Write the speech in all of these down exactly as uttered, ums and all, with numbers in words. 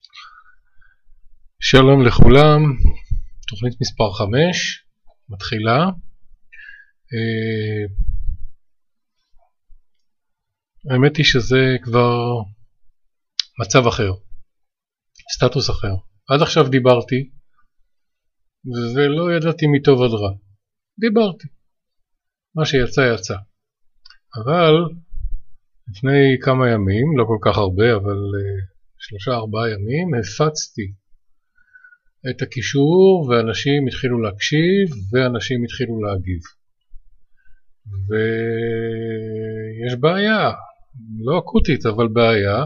שלום לכולם, תוכנית מספר חמש, מתחילה. האמת היא שזה כבר מצב אחר, סטטוס אחר. עד עכשיו דיברתי, ולא ידעתי מטוב עד רע. דיברתי. מה שיצא יצא. אבל לפני כמה ימים, לא כל כך הרבה, אבל שלושה ארבעה ימים, הפצתי את הקישור, ואנשים התחילו להקשיב, ואנשים התחילו להגיב. ויש בעיה, לא אקוטית, אבל בעיה.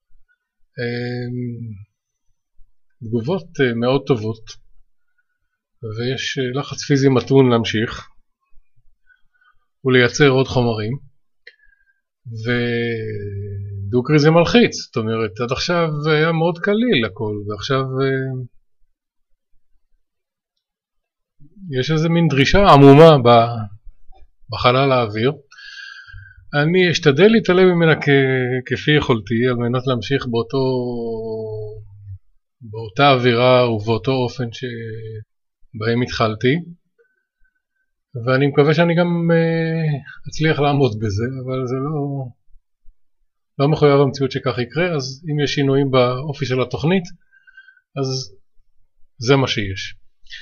תגובות מאוד טובות, ויש לחץ פיזי מתון להמשיך, ולייצר עוד חומרים, ודוקרי זה מלחיץ. זאת אומרת, עד עכשיו היה מאוד קליל הכל, ועכשיו יש איזה מין דרישה עמומה בחלל האוויר. אני אשתדל להתעלם ממנה כפי יכולתי, על מנת להמשיך באותו, באותה אווירה ובאותו אופן שבהם התחלתי, ואני מקווה שאני גם אצליח לעמוד בזה, אבל זה לא, לא מחויב המציאות שכך יקרה. אז אם יש שינויים באופי של התוכנית, אז זה מה שיש.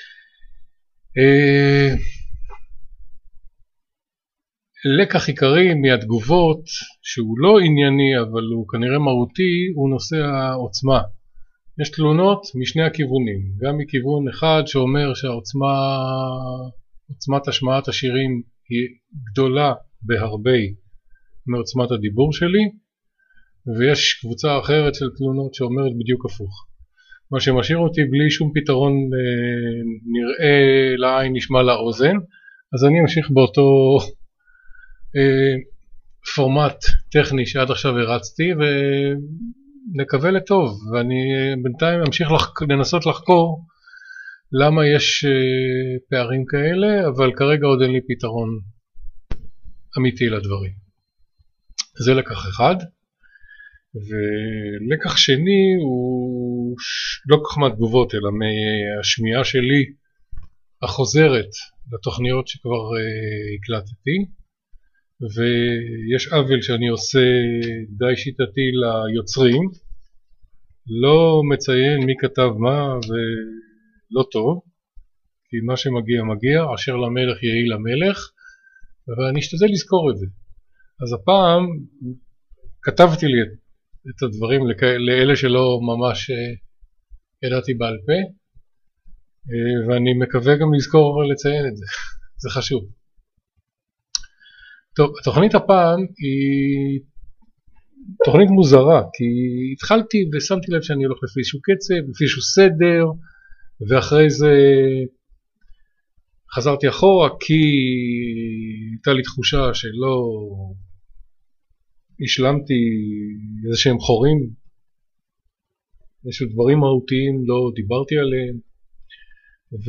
לקח עיקרי מהתגובות, שהוא לא ענייני אבל הוא כנראה מהותי, הוא נושא העוצמה. יש תלונות משני הכיוונים, גם מכיוון אחד שאומר שהעוצמה, עוצמת השמעת השירים היא גדולה בהרבה מעוצמת הדיבור שלי, ויש קבוצה אחרת של תלונות שאומרת בדיוק הפוך. מה שמשאיר אותי בלי שום פתרון נראה לעין, נשמע לאוזן. אז אני אמשיך באותו פורמט טכני שעד עכשיו הרצתי, ונקווה לטוב. ואני בינתיים אמשיך לנסות לחקור למה יש פערים כאלה, אבל כרגע עוד אין לי פתרון אמיתי לדברים. זה לקח אחד. ולקח שני הוא לא כל כך מהתגובות, אלא מהשמיעה שלי החוזרת לתוכניות שכבר הקלטתי. ויש עוול שאני עושה די שיטתי ליוצרים, לא מציין מי כתב מה, ולא טוב, כי מה שמגיע מגיע, אשר למלך יהי למלך, ואני אשתדל לזכור את זה. אז הפעם כתבתי לי את את הדברים לאלה שלא ממש ידעתי בעל פה, ואני מקווה גם לזכור לציין את זה, זה חשוב. טוב, התוכנית הפעם היא תוכנית מוזרה, כי התחלתי ושמתי לב שאני הולך לפי איזשהו קצב, לפי איזשהו סדר, ואחרי זה חזרתי אחורה, כי הייתה לי תחושה שלא השלמתי איזה שהם חורים, איזשהו דברים מהותיים לא דיברתי עליהם, ו...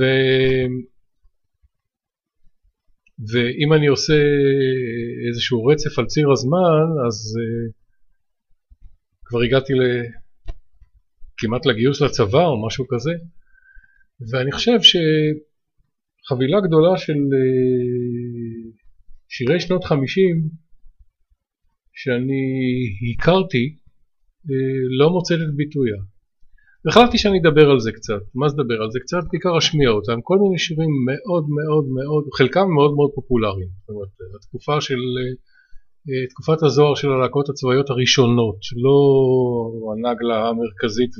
ואם אני עושה איזשהו רצף על ציר הזמן, אז uh, כבר הגעתי ל... כמעט לגיוס לצבא או משהו כזה, ואני חושב שחבילה גדולה של uh, שירי שנות חמישים שאני הכרתי לא מוצאת את ביטויה. והחלטתי שאני אדבר על זה קצת. מה זה לדבר על זה קצת? בעיקר אשמיע אותם. כל מיני שירים מאוד מאוד מאוד, חלקם מאוד מאוד פופולריים. זאת אומרת, התקופה של, תקופת הזוהר של הלהקות הצבאיות הראשונות, לא הנגלה המרכזית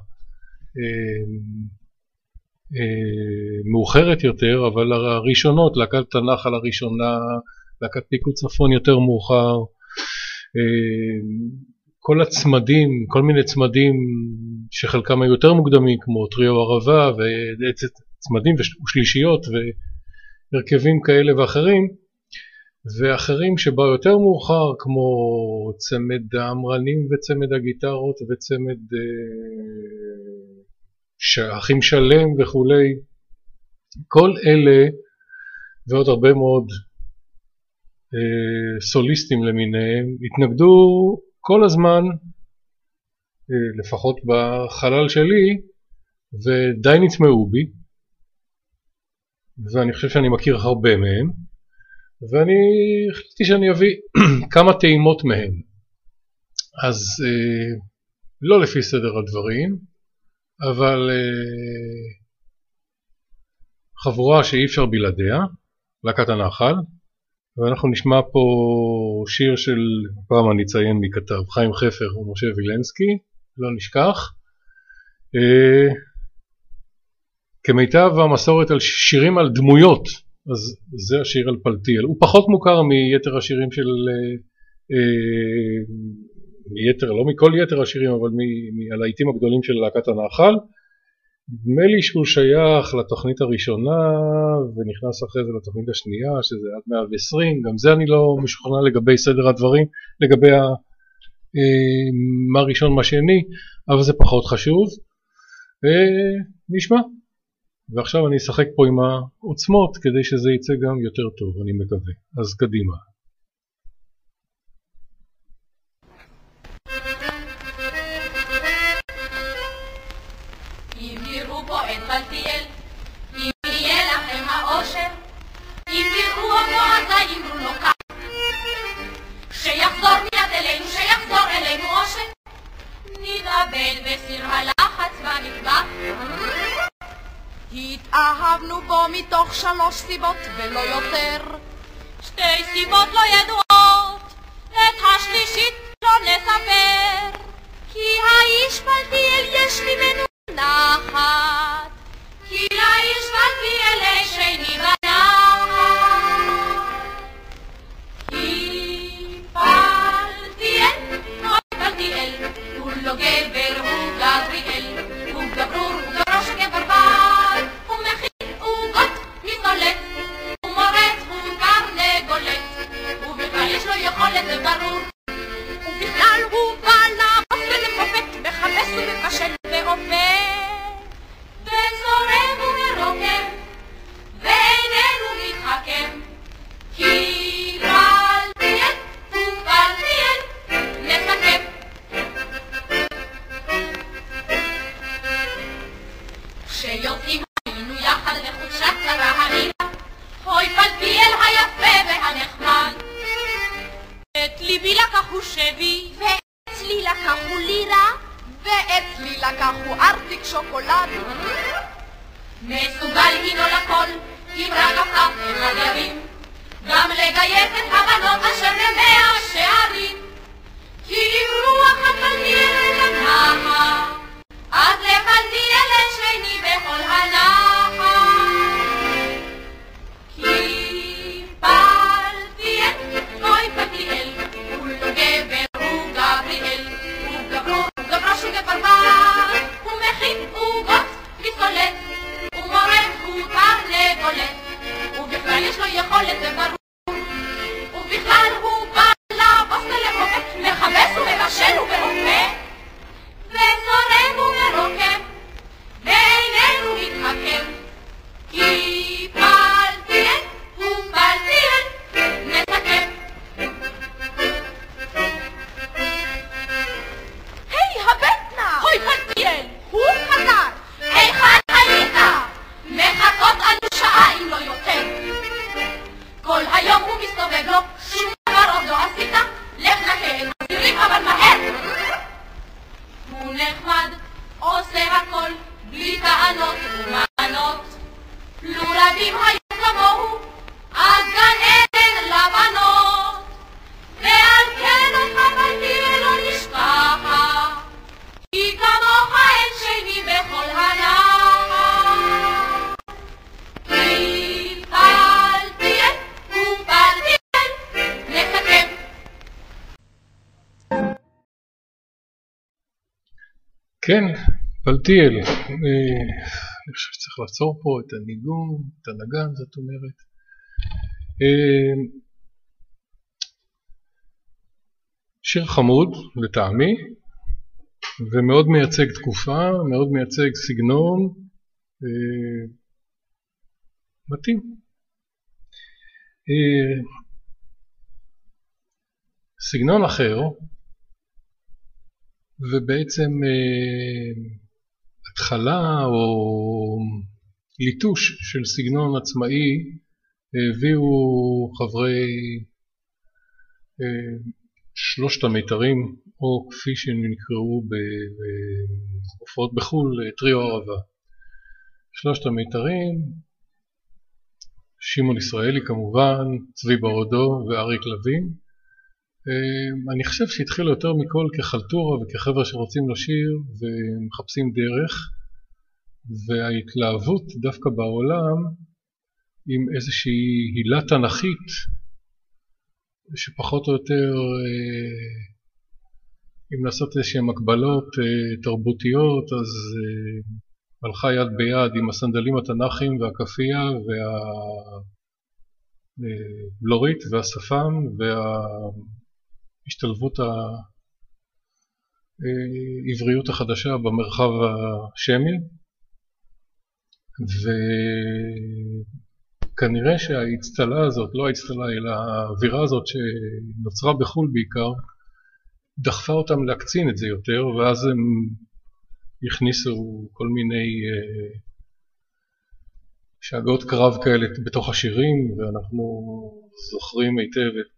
והמאוחרת יותר, אבל הראשונות, להקת תנחל הראשונה, להקת פיקוד צפון יותר מאוחר, כל הצמדים, כל מיני צמדים שחלקם היו יותר מוקדמים, כמו טריו ערבה וצמדים ושלישיות והרכבים כאלה ואחרים, ואחרים שבאו יותר מאוחר, כמו צמד האמרנים וצמד הגיטרות וצמד אחים שלם וכולי. כל אלה ועוד הרבה מאוד סוליסטים למיניהם התנגדו כל הזמן לפחות בחלל שלי, ודי נטמעו בי, ואני חושב שאני מכיר הרבה מהם, ואני החלטתי שאני אביא כמה טעימות מהם. אז לא לפי סדר הדברים, אבל חבורה שאי אפשר בלעדיה, להקת הנחל, ואנחנו נשמע פה שיר של, פעם אני אציין מי כתב, חיים חפר ומשה וילנסקי, לא נשכח. כמיטב המסורת על שירים על דמויות, אז זה השיר על פלטיאל. הוא פחות מוכר מיתר השירים של, מיתר, לא מכל יתר השירים, אבל מהלהיטים הגדולים של להקת הנחל. נדמה לי שהוא שייך לתוכנית הראשונה ונכנס אחרי זה לתוכנית השנייה, שזה עד מאה ועשרים, גם זה אני לא משוכנע לגבי סדר הדברים, לגבי ה, מה ראשון מה שני, אבל זה פחות חשוב. נשמע, ועכשיו אני אשחק פה עם העוצמות כדי שזה יצא גם יותר טוב, אני מקווה. אז קדימה. פלטיאל, אם יהיה לכם האושר, אם תראו אותו אז האמרו לו כך, שיחזור מיד אלינו, שיחזור אלינו אושר, נתאבד בסיר הלחץ במטבח. התאהבנו בו מתוך שלוש סיבות ולא יותר, שתי סיבות לא ידועות, את השלישית לא נספר, כי האיש פלטיאל יש ממנו נחת, כי לאיש פלטיאל שני בנחת. כי פלטיאל, אוי פלטיאל, הוא לא גבר, הוא גבריאל, הוא גברור, הוא גברו שגבר בר, הוא מכין עוגות מסולת, הוא מורד, הוא קרנגולת, ובכלל יש לו יכולת זה ברור, ובכלל הוא בא לעבוד ולפופת, מחפש ומבשל ואופה, וזורם ומרוקם, ואיננו מתחכם, כי פלטיאל הוא פלטיאל, נסכם. כשיוצאים היינו יחד לחופשת הרעילה, אוי פלטיאל היפה והנחמד, את ליבי לקחו שבי, ואצלי לקחו לירה, ואצלי לקחו ארטיק שוקולד. מסוגל הינו לכל, אם רק הפך אחד ירים, גם לגייס את הבנות אשר במאה שערים. כי אם רוח הפלטיאל אל הנחל, אז לפלטיאל שני בכל הנחל. כי פלטיאל, אוי פלטיאל, הוא לא גבר, הוא גבריאל, הוא גברור, הוא גברו שגבר בר, הוא מכין עוגות מסולת, הוא מורד, הוא קרנגולת, ובכלל יש לו יכולת זה ברור, ובכלל הוא בא לעבוד ולפופת, מכבס ומבשל ובאופה, וזורם ומרוקם, ואיננו מתחכם, כי פלטיאל הוא פלטיאל, נסכם. היי הבטנה! אוי פלטיאל! הוא חזר! היכן היית? מחכות אנו שעה אם לא יותר. כל היום הוא מסתובב לו, שום דבר עוד לא עשית, לך נקה את הסירים אבל מהר. הוא נחמד, עושה הכל, בלי טענות ומענות. לו רבים היו כמוהו, אז גן עדן לבנות. ועל כן אותך פלטיאל לא נשכחה, כי כמוך אין שני בכל הנחל. כי פלטיאל הוא פלטיאל, נסכם. כן, פלטיאל. אני חושב שצריך לעצור פה את הניגון, את הנגן, זאת אומרת. שיר חמוד לטעמי, ומאוד מייצג תקופה, מאוד מייצג סגנון, מתאים. סגנון אחר, ובעצם התחלה או ליטוש של סגנון עצמאי הביאו חברי שלושת המיתרים, או כפי שהם נקראו בהופעות בחול, טריו ערבה. שלושת המיתרים, שמעון ישראלי כמובן, צבי ברודו ואריק לוין. אני חושב שהתחילו יותר מכל כחלטורה וכחבר'ה שרוצים לשיר ומחפשים דרך, וההתלהבות דווקא בעולם עם איזושהי הילה תנכית שפחות או יותר, אם לעשות איזושהי מקבלות תרבותיות, אז הלכה יד ביד עם הסנדלים התנ"כים והכפייה והבלורית והשפם וההשתלבות העבריות החדשה במרחב השמי. וכנראה שההצטלה הזאת, לא ההצטלה אלא האווירה הזאת שנוצרה בחול בעיקר, דחפה אותם להקצין את זה יותר, ואז הם הכניסו כל מיני uh, שאגות קרב כאלה בתוך השירים, ואנחנו זוכרים היטב את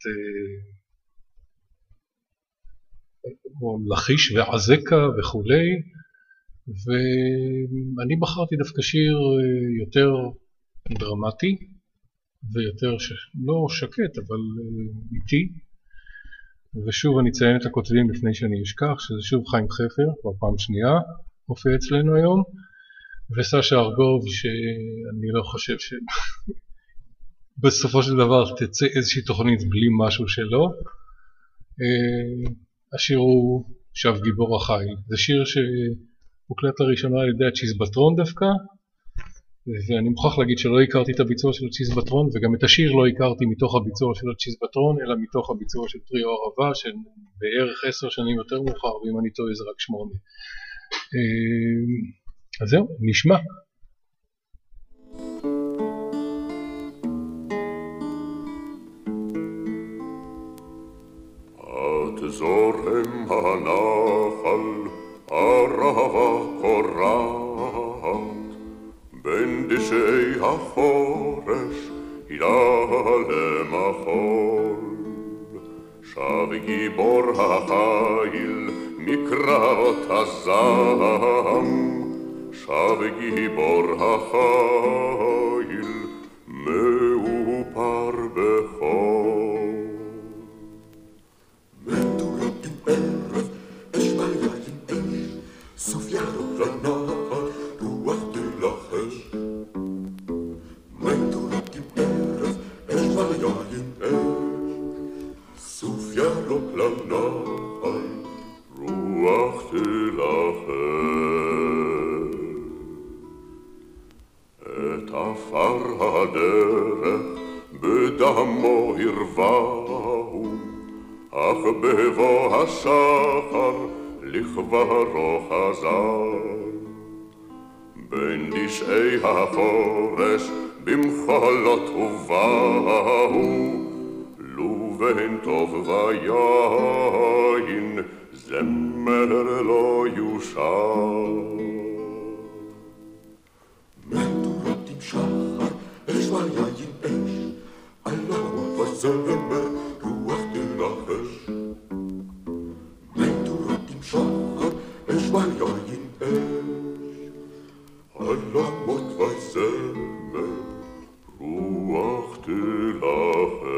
uh, לחיש ועזקה וכולי, ואני בחרתי דווקא שיר uh, יותר דרמטי ויותר ש... לא שקט אבל uh, איטי, ושוב אני אציין את הכותבים לפני שאני אשכח, שזה שוב חיים חפר, כבר פעם שנייה מופיע אצלנו היום, וסשה ארגוב, שאני לא חושב שבסופו של דבר תצא איזושהי תוכנית בלי משהו שלו. השיר הוא שב גיבור החיל, זה שיר שהוקלט לראשונה על ידי הצ'יזבטרון דווקא, ואני מוכרח להגיד שלא הכרתי את הביצוע של הצ'יזבטרון, וגם את השיר לא הכרתי מתוך הביצוע של הצ'יזבטרון, אלא מתוך הביצוע של טריו ערבה, שבערך עשר שנים יותר מאוחר, ואם אני טועה זה רק שמונה. אז זהו, נשמע. את זורם הנחל, ערבה קורעת, בין דשאי החורש הילה למחול, שב גיבור החיל מקרבות הזעם, שב גיבור החיל מאופר בחול. מדורות עם ערב, אש ביין אש, סוף ירוק לנחל, רוח תלחש. מדורות עם ערב, אש ביין אש, סוף ירוק לנחל, רוח תלחש. את עפר הדרך בדמו הרווהו, אך בבוא השחר לכברו חזר. בין דשאי החורש במחולות ובאו, לו בין טוב ויין זמר לא יושר. מדורות עם שחר, אש ויין אש, עלמות וזמר, רוח תלחש. מדורות עם שחר, אש ויין אש, עלמות וזמר, רוח תלחש.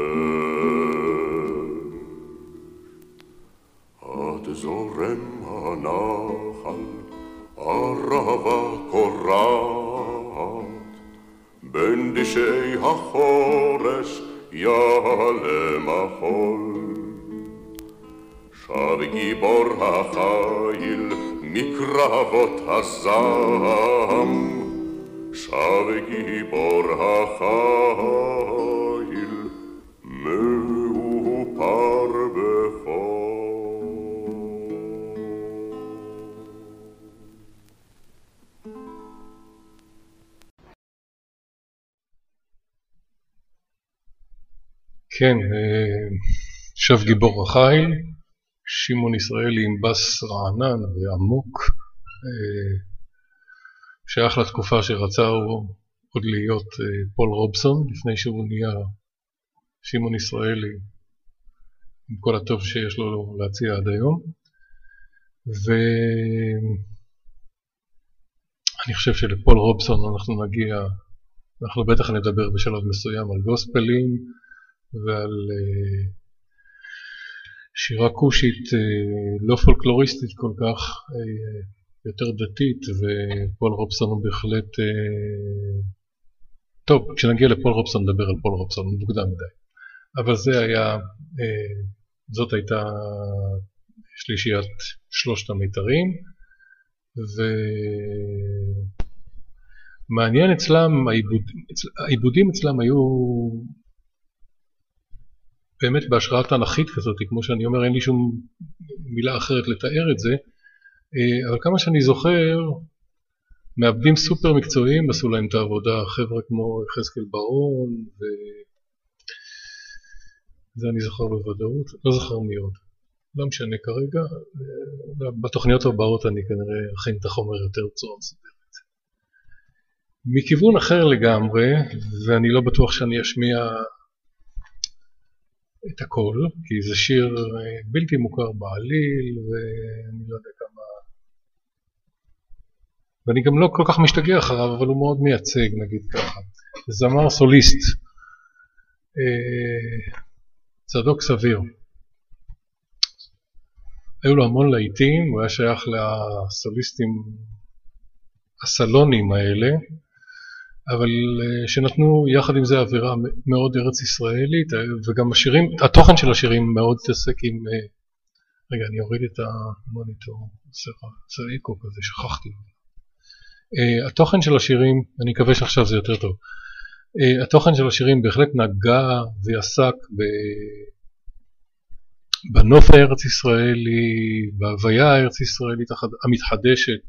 עד זורם הנחל, ערבה קורעת, בין דשאי החורש יעלה מחול, שב גיבור החיל מקרבות הזעם, שב גיבור החיל מאופר בחול. כן, שב גיבור החיל, שמעון ישראלי עם בס רענן ועמוק, שייך לתקופה שרצה הוא עוד להיות פול רובסון, לפני שהוא נהיה שמעון ישראלי, עם כל הטוב שיש לו להציע עד היום. ואני חושב שלפול רובסון אנחנו נגיע, אנחנו בטח נדבר בשלב מסוים על גוספלים ועל שירה קושית לא פולקלוריסטית כל כך, יותר דתית, ופול רובסון הוא בהחלט... טוב, כשנגיע לפול רובסון נדבר על פול רובסון, מוקדם מדי. אבל זה היה, זאת הייתה שלישיית שלושת המיתרים, ומעניין אצלם, העיבוד, העיבודים אצלם היו באמת בהשראה תנ"כית כזאת, כמו שאני אומר, אין לי שום מילה אחרת לתאר את זה, אבל כמה שאני זוכר, מעבדים סופר מקצועיים עשו להם את העבודה, חבר'ה כמו יחזקאל בר-און, וזה אני זוכר בוודאות, לא זוכר מי עוד. לא משנה כרגע, בתוכניות הבאות אני כנראה אכין את החומר יותר בצורה מסודרת. מכיוון אחר לגמרי, ואני לא בטוח שאני אשמיע את הכל, כי זה שיר בלתי מוכר בעליל, ואני לא יודע כמה... ואני גם לא כל כך משתגע אחריו, אבל הוא מאוד מייצג, נגיד ככה. זמר סוליסט, צדוק סביר. היו לו המון להיטים, הוא היה שייך לסוליסטים הסלונים האלה, אבל שנתנו יחד עם זה אווירה מאוד ארץ ישראלית, וגם השירים, התוכן של השירים מאוד תעסק עם... רגע, אני אוריד את המוניטור, זה איקו כזה, שכחתי. התוכן של השירים, אני מקווה שעכשיו זה יותר טוב, התוכן של השירים בהחלט נגע ועסק ב... בנוף הארץ ישראלי, בהוויה הארץ ישראלית המתחדשת,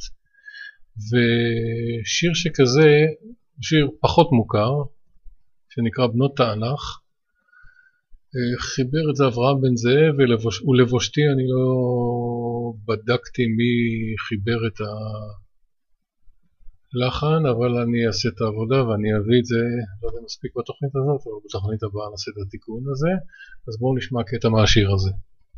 ושיר שכזה, שיר פחות מוכר, שנקרא בנות תענך, חיבר את זה אברהם בן זאב, ולבושתי אני לא בדקתי מי חיבר את הלחן, אבל אני אעשה את העבודה ואני אביא את זה, לא יודע מספיק בתוכנית הזאת, אבל בתוכנית הבאה נעשה את התיקון הזה, אז בואו נשמע קטע מהשיר הזה.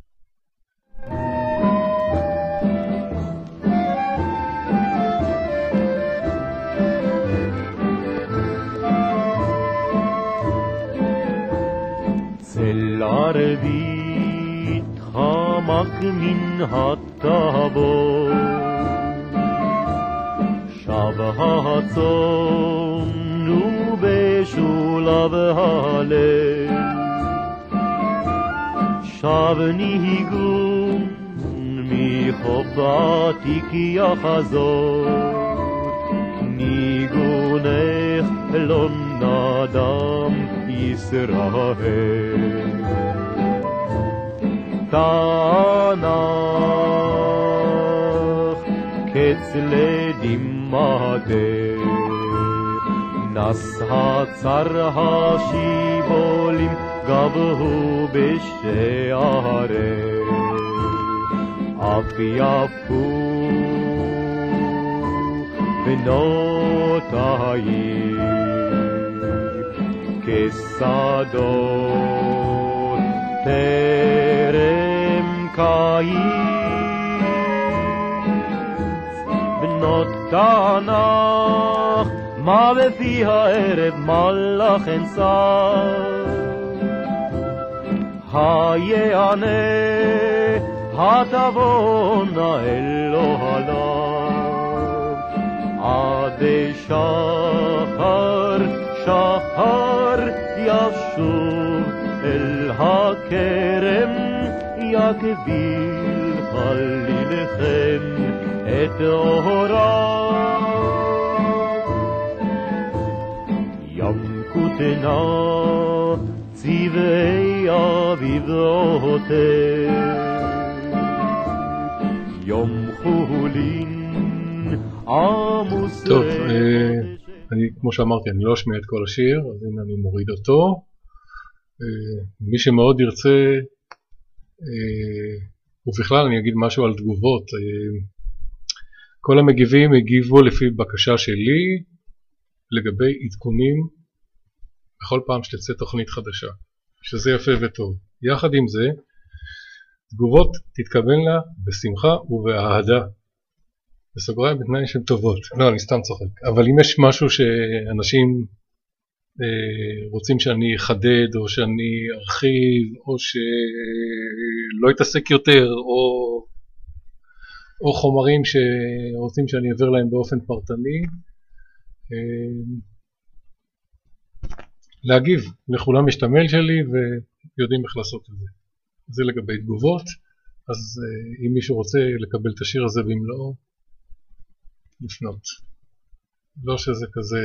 צל ערבית חמק מן הטבור, שב הצאן ובשולב הלב, שב ניגון מחוף עתיק יחזור, ניגונך לא נדם ישראל. תענך קץ לדמעתך, נס הצר השיבולים גבהו בשערך, אף יפו בנותייך כשדות טרם קיץ. בנות תענך מה בפי הערב מלאך אנסר, היענה התבונה אל אוהליו, עד שחר שחר ישוב אל הכרם, יקביל חלילכם את אוהריו. ים כותנה צבעי אביבותיך, יום חולין עמוס. טוב, אני, כמו שאמרתי, אני לא אשמיע את כל השיר, אז הנה אני מוריד אותו. מי שמאוד ירצה ובכלל אני אגיד משהו על תגובות. כל המגיבים הגיבו לפי בקשה שלי לגבי עדכונים בכל פעם שתצא תוכנית חדשה, שזה יפה וטוב. יחד עם זה, תגובות תתקבל לה בשמחה ובאהדה. בסוגריים בתנאי שהן טובות. לא, אני סתם צוחק. אבל אם יש משהו שאנשים אה, רוצים שאני אחדד, או שאני ארחיב, או שלא אתעסק יותר, או, או חומרים שרוצים שאני אעביר להם באופן פרטני, אה, להגיב. לכולם יש את המייל שלי ויודעים איך לעשות את זה. זה לגבי תגובות. אז אה, אם מישהו רוצה לקבל את השיר הזה במלואו, לפנות. לא שזה כזה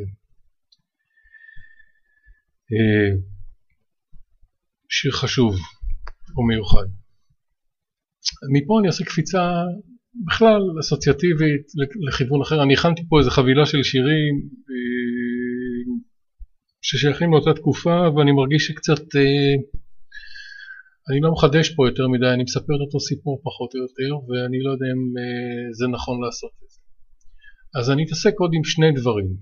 אה, שיר חשוב או מיוחד. מפה אני אעשה קפיצה בכלל אסוציאטיבית לכיוון אחר. אני הכנתי פה איזו חבילה של שירים אה, ששייכים לאותה תקופה, ואני מרגיש שקצת אה, אני לא מחדש פה יותר מדי, אני מספר את אותו סיפור פחות או יותר, ואני לא יודע אם אה, זה נכון לעשות את זה. אז אני אתעסק עוד עם שני דברים,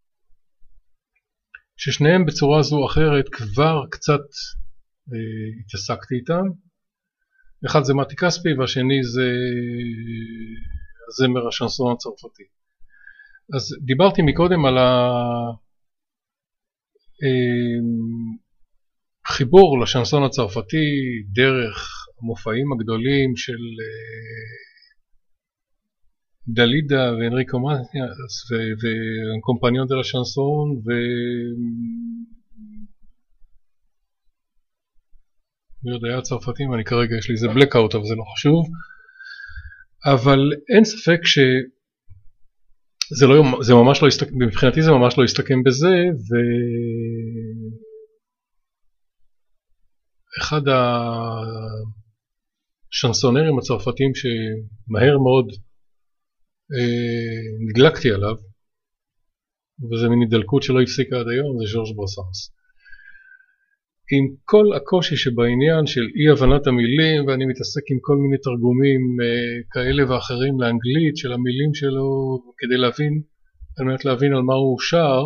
ששניהם בצורה זו או אחרת כבר קצת אה, התעסקתי איתם. אחד זה מתי כספי, והשני זה זמר השנסון הצרפתי. אז דיברתי מקודם על החיבור לשנסון הצרפתי דרך המופעים הגדולים של דלידה ואנריקו מטיאס וקומפניון דה לשנסון ו... מי יודע היה צרפתים, אני כרגע יש לי איזה בלקאוט אבל זה לא חשוב. אבל אין ספק ש... זה, לא, זה ממש לא הסתכם, מבחינתי זה ממש לא הסתכם בזה, ואחד השנסונרים הצרפתיים שמהר מאוד אה, נדלקתי עליו, וזה מין הידלקות שלא הפסיקה עד היום, זה ז'ורג' ברסנס. עם כל הקושי שבעניין של אי הבנת המילים, ואני מתעסק עם כל מיני תרגומים אה, כאלה ואחרים לאנגלית של המילים שלו, כדי להבין, על מנת להבין על מה הוא שר,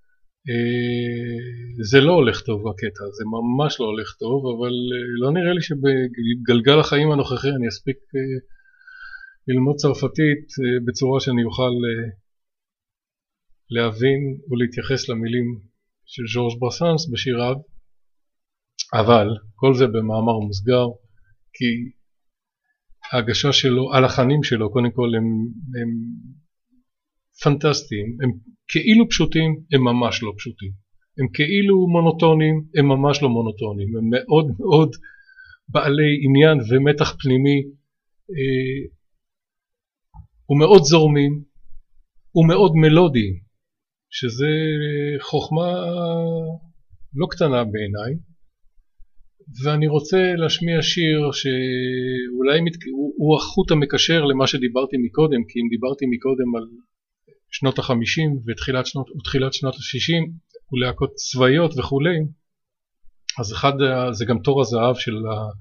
אה, זה לא הולך טוב בקטע, זה ממש לא הולך טוב, אבל אה, לא נראה לי שבגלגל החיים הנוכחי אני אספיק אה, ללמוד צרפתית אה, בצורה שאני אוכל אה, להבין ולהתייחס למילים של ז'ורג' ברסנס בשיריו. אבל כל זה במאמר מוסגר, כי ההגשה שלו, הלחנים שלו, קודם כל הם, הם פנטסטיים, הם כאילו פשוטים, הם ממש לא פשוטים. הם כאילו מונוטונים, הם ממש לא מונוטונים. הם מאוד מאוד בעלי עניין ומתח פנימי, אה, ומאוד זורמים, ומאוד מלודיים, שזה חוכמה לא קטנה בעיניי. ואני רוצה להשמיע שיר שאולי מת... הוא, הוא החוט המקשר למה שדיברתי מקודם, כי אם דיברתי מקודם על שנות החמישים ותחילת שנות, ותחילת שנות השישים ולהקות צבאיות וכולי, אז אחד זה גם תור הזהב של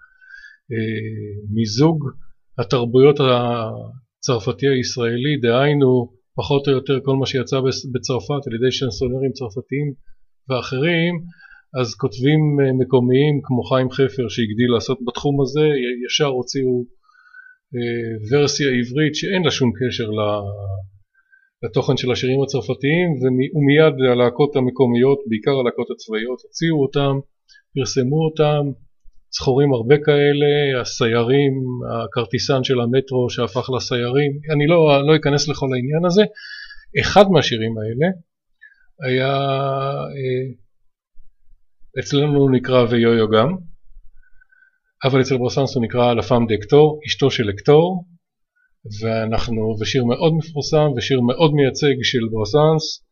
מיזוג התרבויות הצרפתי הישראלי, דהיינו פחות או יותר כל מה שיצא בצרפת על ידי שנסונרים צרפתיים ואחרים, אז כותבים מקומיים כמו חיים חפר שהגדיל לעשות בתחום הזה, ישר הוציאו ורסיה עברית שאין לה שום קשר לתוכן של השירים הצרפתיים, ומיד הלהקות המקומיות, בעיקר הלהקות הצבאיות, הוציאו אותם, פרסמו אותם, זכורים הרבה כאלה, הסיירים, הכרטיסן של המטרו שהפך לסיירים, אני לא, לא אכנס לכל העניין הזה. אחד מהשירים האלה היה... אצלנו נקרא ויו-יו גם, אבל אצל ברסנס הוא נקרא La Femme d'Hector, אשתו של הקטור, ואנחנו, ושיר מאוד מפורסם ושיר מאוד מייצג של ברסנס,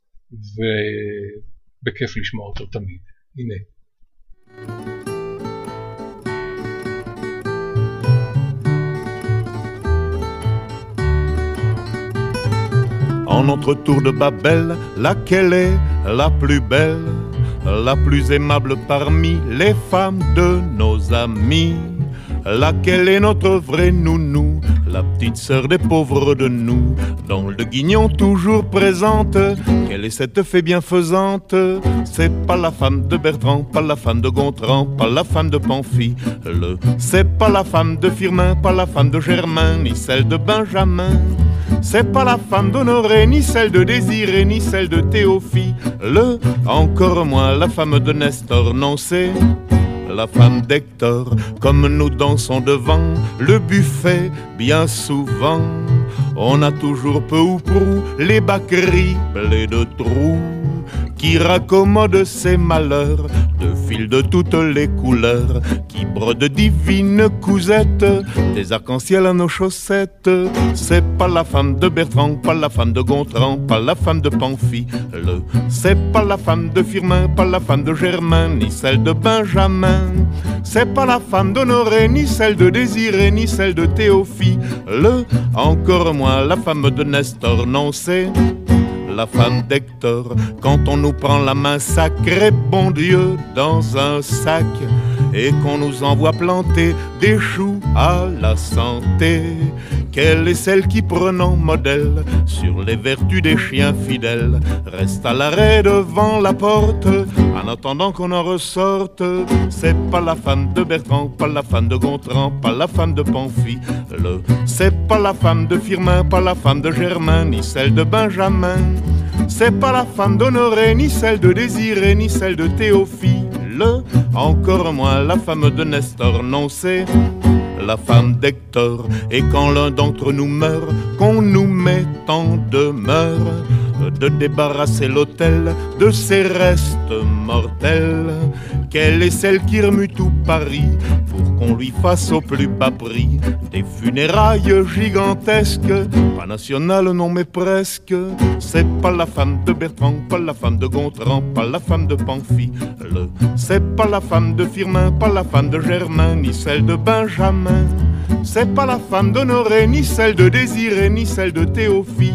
ובכיף לשמוע אותו תמיד. הנה. En notre tour de Babel, laquelle est la plus belle, la plus aimable parmi les femmes de nos amis, laquelle est notre vraie nounou, la petite sœur des pauvres de nous, dans le guignon toujours présente. Quelle est cette fée bienfaisante? C'est pas la femme de Bertrand, pas la femme de Gontran, pas la femme de Pamphile, c'est pas la femme de Firmin, pas la femme de Germain, ni celle de Benjamin. C'est pas la femme d'Honoré, ni celle de Désiré, ni celle de Théophile, encore moins la femme de Nestor, non c'est la femme d'Hector. Comme nous dansons devant le buffet bien souvent, on a toujours peu ou prou les bacqueries blés de trous qui raccommodent ses malheurs de fils de toutes les couleurs, qui brodent divines cousettes, des arcs-en-ciel à nos chaussettes. C'est pas la femme de Bertrand, pas la femme de Gontran, pas la femme de Pamphile, c'est pas la femme de Firmin, pas la femme de Germain, ni celle de Benjamin. C'est pas la femme d'Honoré, ni celle de Désiré, ni celle de Théophile, encore moins la femme de Nestor, non c'est la femme d'Hector. Quand on nous prend la main sacrée, bon Dieu, dans un sac, et qu'on nous envoie planter des choux à la santé, quelle est celle qui, prenant modèle sur les vertus des chiens fidèles, reste à l'arrêt devant la porte en attendant qu'on en ressorte? C'est pas la femme de Bertrand, pas la femme de Gontran, pas la femme de Pamphile, c'est pas la femme de Firmin, pas la femme de Germain, ni celle de Benjamin. C'est pas la femme d'Honoré, ni celle de Désiré, ni celle de Théophile, encore moins la femme de Nestor, non c'est la femme d'Hector. Et quand l'un d'entre nous meurt, qu'on nous met en demeure de débarrasser l'autel de ses restes mortels, quelle est celle qui remue tout Paris pour qu'on lui fasse au plus bas prix des funérailles gigantesques, pas nationales non mais presque? C'est pas la femme de Bertrand, pas la femme de Gontran, pas la femme de Pamphile, c'est pas la femme de Firmin, pas la femme de Germain, ni celle de Benjamin. C'est pas la femme d'Honoré, ni celle de Désiré, ni celle de Théophile,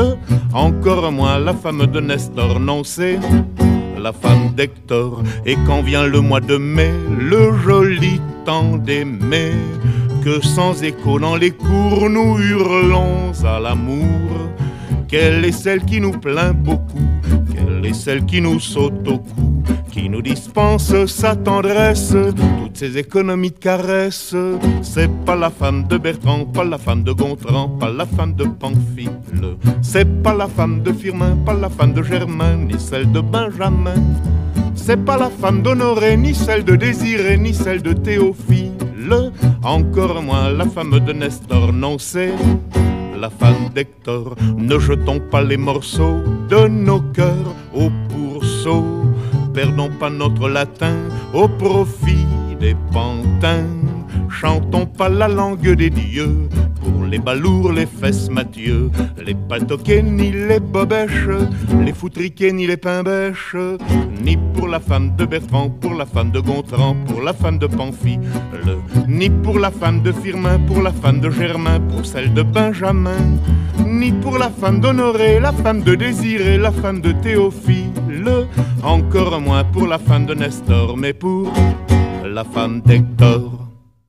encore moins la femme de Nestor, non c'est la femme d'Hector. Et quand vient le mois de mai, le joli temps d'aimer, que sans écho dans les cours nous hurlons à l'amour, quelle est celle qui nous plaint beaucoup, quelle est celle qui nous saute au cou, qui nous dispense sa tendresse, toutes ces économies de caresses? C'est pas la femme de Bertrand, pas la femme de Gontran, pas la femme de Pamphile, c'est pas la femme de Firmin, pas la femme de Germain, ni celle de Benjamin. C'est pas la femme d'Honoré, ni celle de Désiré, ni celle de Théophile, encore moins la femme de Nestor, non c'est la femme d'Hector. Ne jetons pas les morceaux de nos cœurs au pourceau, perdons pas notre latin au profit des pantins, chantons pas la langue des dieux pour les balourds, les fesses Mathieu, les patoquets ni les bobèches, les foutriquets ni les pain-bêches, ni pour la femme de Bertrand, pour la femme de Gontran, pour la femme de Pamphile, ni pour la femme de Firmin, pour la femme de Germain, pour celle de Benjamin, ni pour la femme d'Honoré, la femme de Désiré, la femme de Théophile, encore moins pour la femme de Nestor, mais pour la femme d'Hector.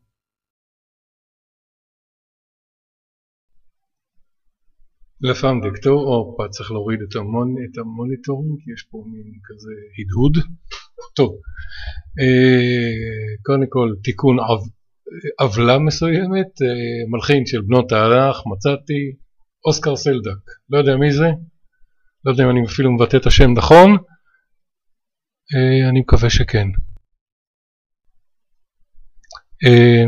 La femme d'Hector, או פה צריך להוריד את, המון, את המוניטורים, כי יש פה מין כזה הדהוד. טוב, אה, קודם כל תיקון עו, עוולה מסוימת, אה, מלחין של בנות תנ"ך, מצאתי, אוסקר סלדק, לא יודע מי זה, לא יודע אם אני אפילו מבטא את השם נכון, אה, אני מקווה שכן. אה,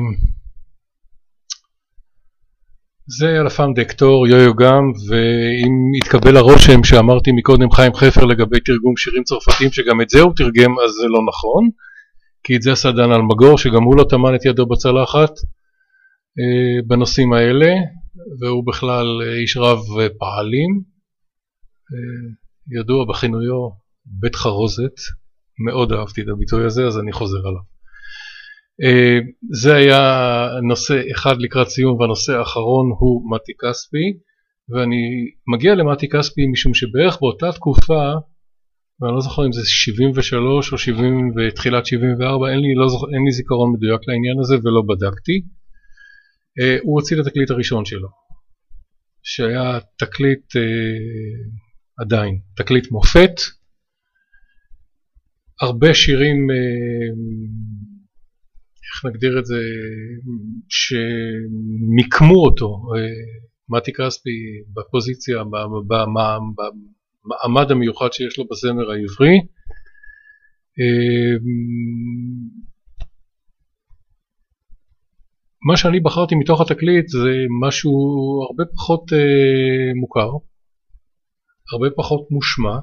זה היה לפעם דקטור, יו-יו גם, ואם התקבל הרושם שאמרתי מקודם חיים חפר לגבי תרגום שירים צרפתיים שגם את זה הוא תרגם, אז זה לא נכון, כי את זה עשה דן אלמגור שגם הוא לא טמן את ידו בצלחת אה, בנושאים האלה, והוא בכלל איש רב פעלים, אה, ידוע בכינויו בית חרוזת, מאוד אהבתי את הביטוי הזה, אז אני חוזר עליו. זה היה נושא אחד לקראת סיום, והנושא האחרון הוא מתי כספי, ואני מגיע למתי כספי משום שבערך באותה תקופה ואני לא זוכר אם זה שבעים ושלוש או שבעים ותחילת שבעים וארבע, אין לי, לא זוכר, אין לי זיכרון מדויק לעניין הזה ולא בדקתי. הוא הוציא את התקליט הראשון שלו, שהיה תקליט עדיין, תקליט מופת, הרבה שירים, איך נגדיר את זה, שמיקמו אותו, מתי כספי בפוזיציה, במעמד המיוחד שיש לו בזמר העברי. מה שאני בחרתי מתוך התקליט זה משהו הרבה פחות מוכר, הרבה פחות מושמע,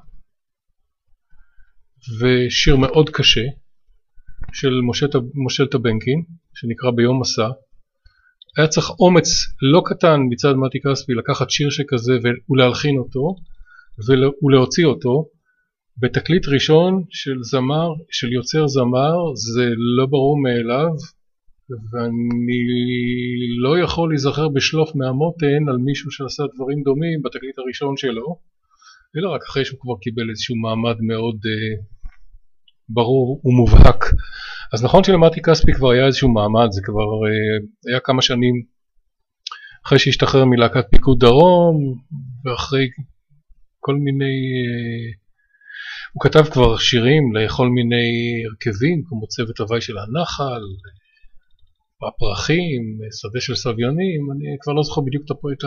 ושיר מאוד קשה של משה טבנקין, שנקרא ביום מסע. היה צריך אומץ לא קטן מצד מתי כספי לקחת שיר שכזה ולהלחין אותו ולהוציא אותו בתקליט ראשון של זמר, של יוצר זמר. זה לא ברור מאליו, ואני לא יכול להיזכר בשלוף מהמותן על מישהו שעשה דברים דומים בתקליט הראשון שלו, אלא רק אחרי שהוא כבר קיבל איזשהו מעמד מאוד uh, ברור ומובהק. אז נכון שלמתי כספי כבר היה איזשהו מעמד, זה כבר uh, היה כמה שנים אחרי שהשתחרר מלהקת פיקוד דרום, ואחרי כל מיני, uh, הוא כתב כבר שירים לכל מיני הרכבים, כמו צוות הוואי של הנחל, הפרחים, שדה של סביונים, אני כבר לא זוכר בדיוק את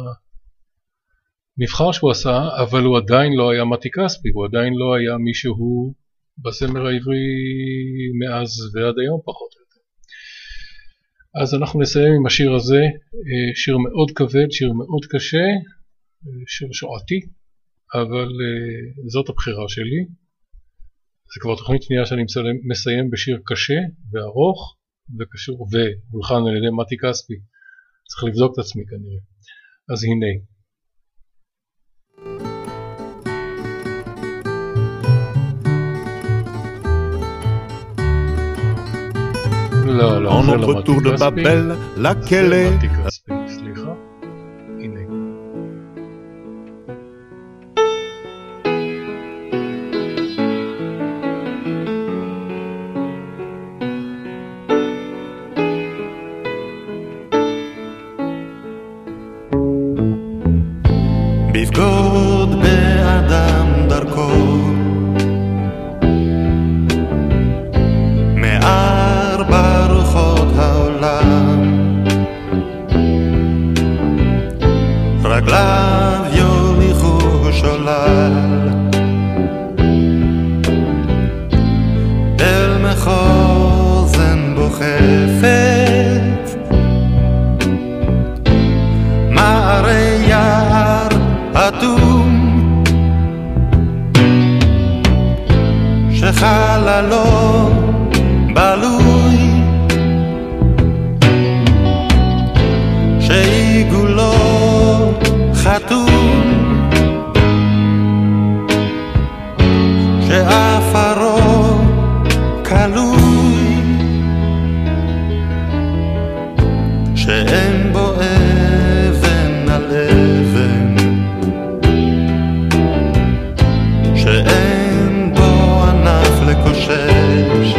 המבחר שהוא עשה, אבל הוא עדיין לא היה מתי כספי, הוא עדיין לא היה מישהו בזמר העברי מאז ועד היום פחות או יותר. אז אנחנו נסיים עם השיר הזה, שיר מאוד כבד, שיר מאוד קשה, שיר שועתי, אבל זאת הבחירה שלי. זה כבר תוכנית שנייה שאני מסיים בשיר קשה וארוך, וקשור והולחן על ידי מתי כספי. צריך לבדוק את עצמי כנראה. אז הנה. לא, לא, זה לא מתי כספי. זה מתי כספי, סליחה. הנה. בבגוד באדם דרכו מארבע רוחות העולם, רגליו יוליכו שולל אל מחוזן בו חפץ, מערי יער אדום שחללו בלוי, שעיגולו חתום, שעפרו כלוי, שאין בו אבן על אבן, שאין בו ענף לקושש,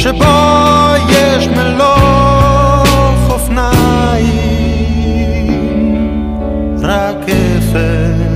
שבו יש מלוך אופניים, רק אפר.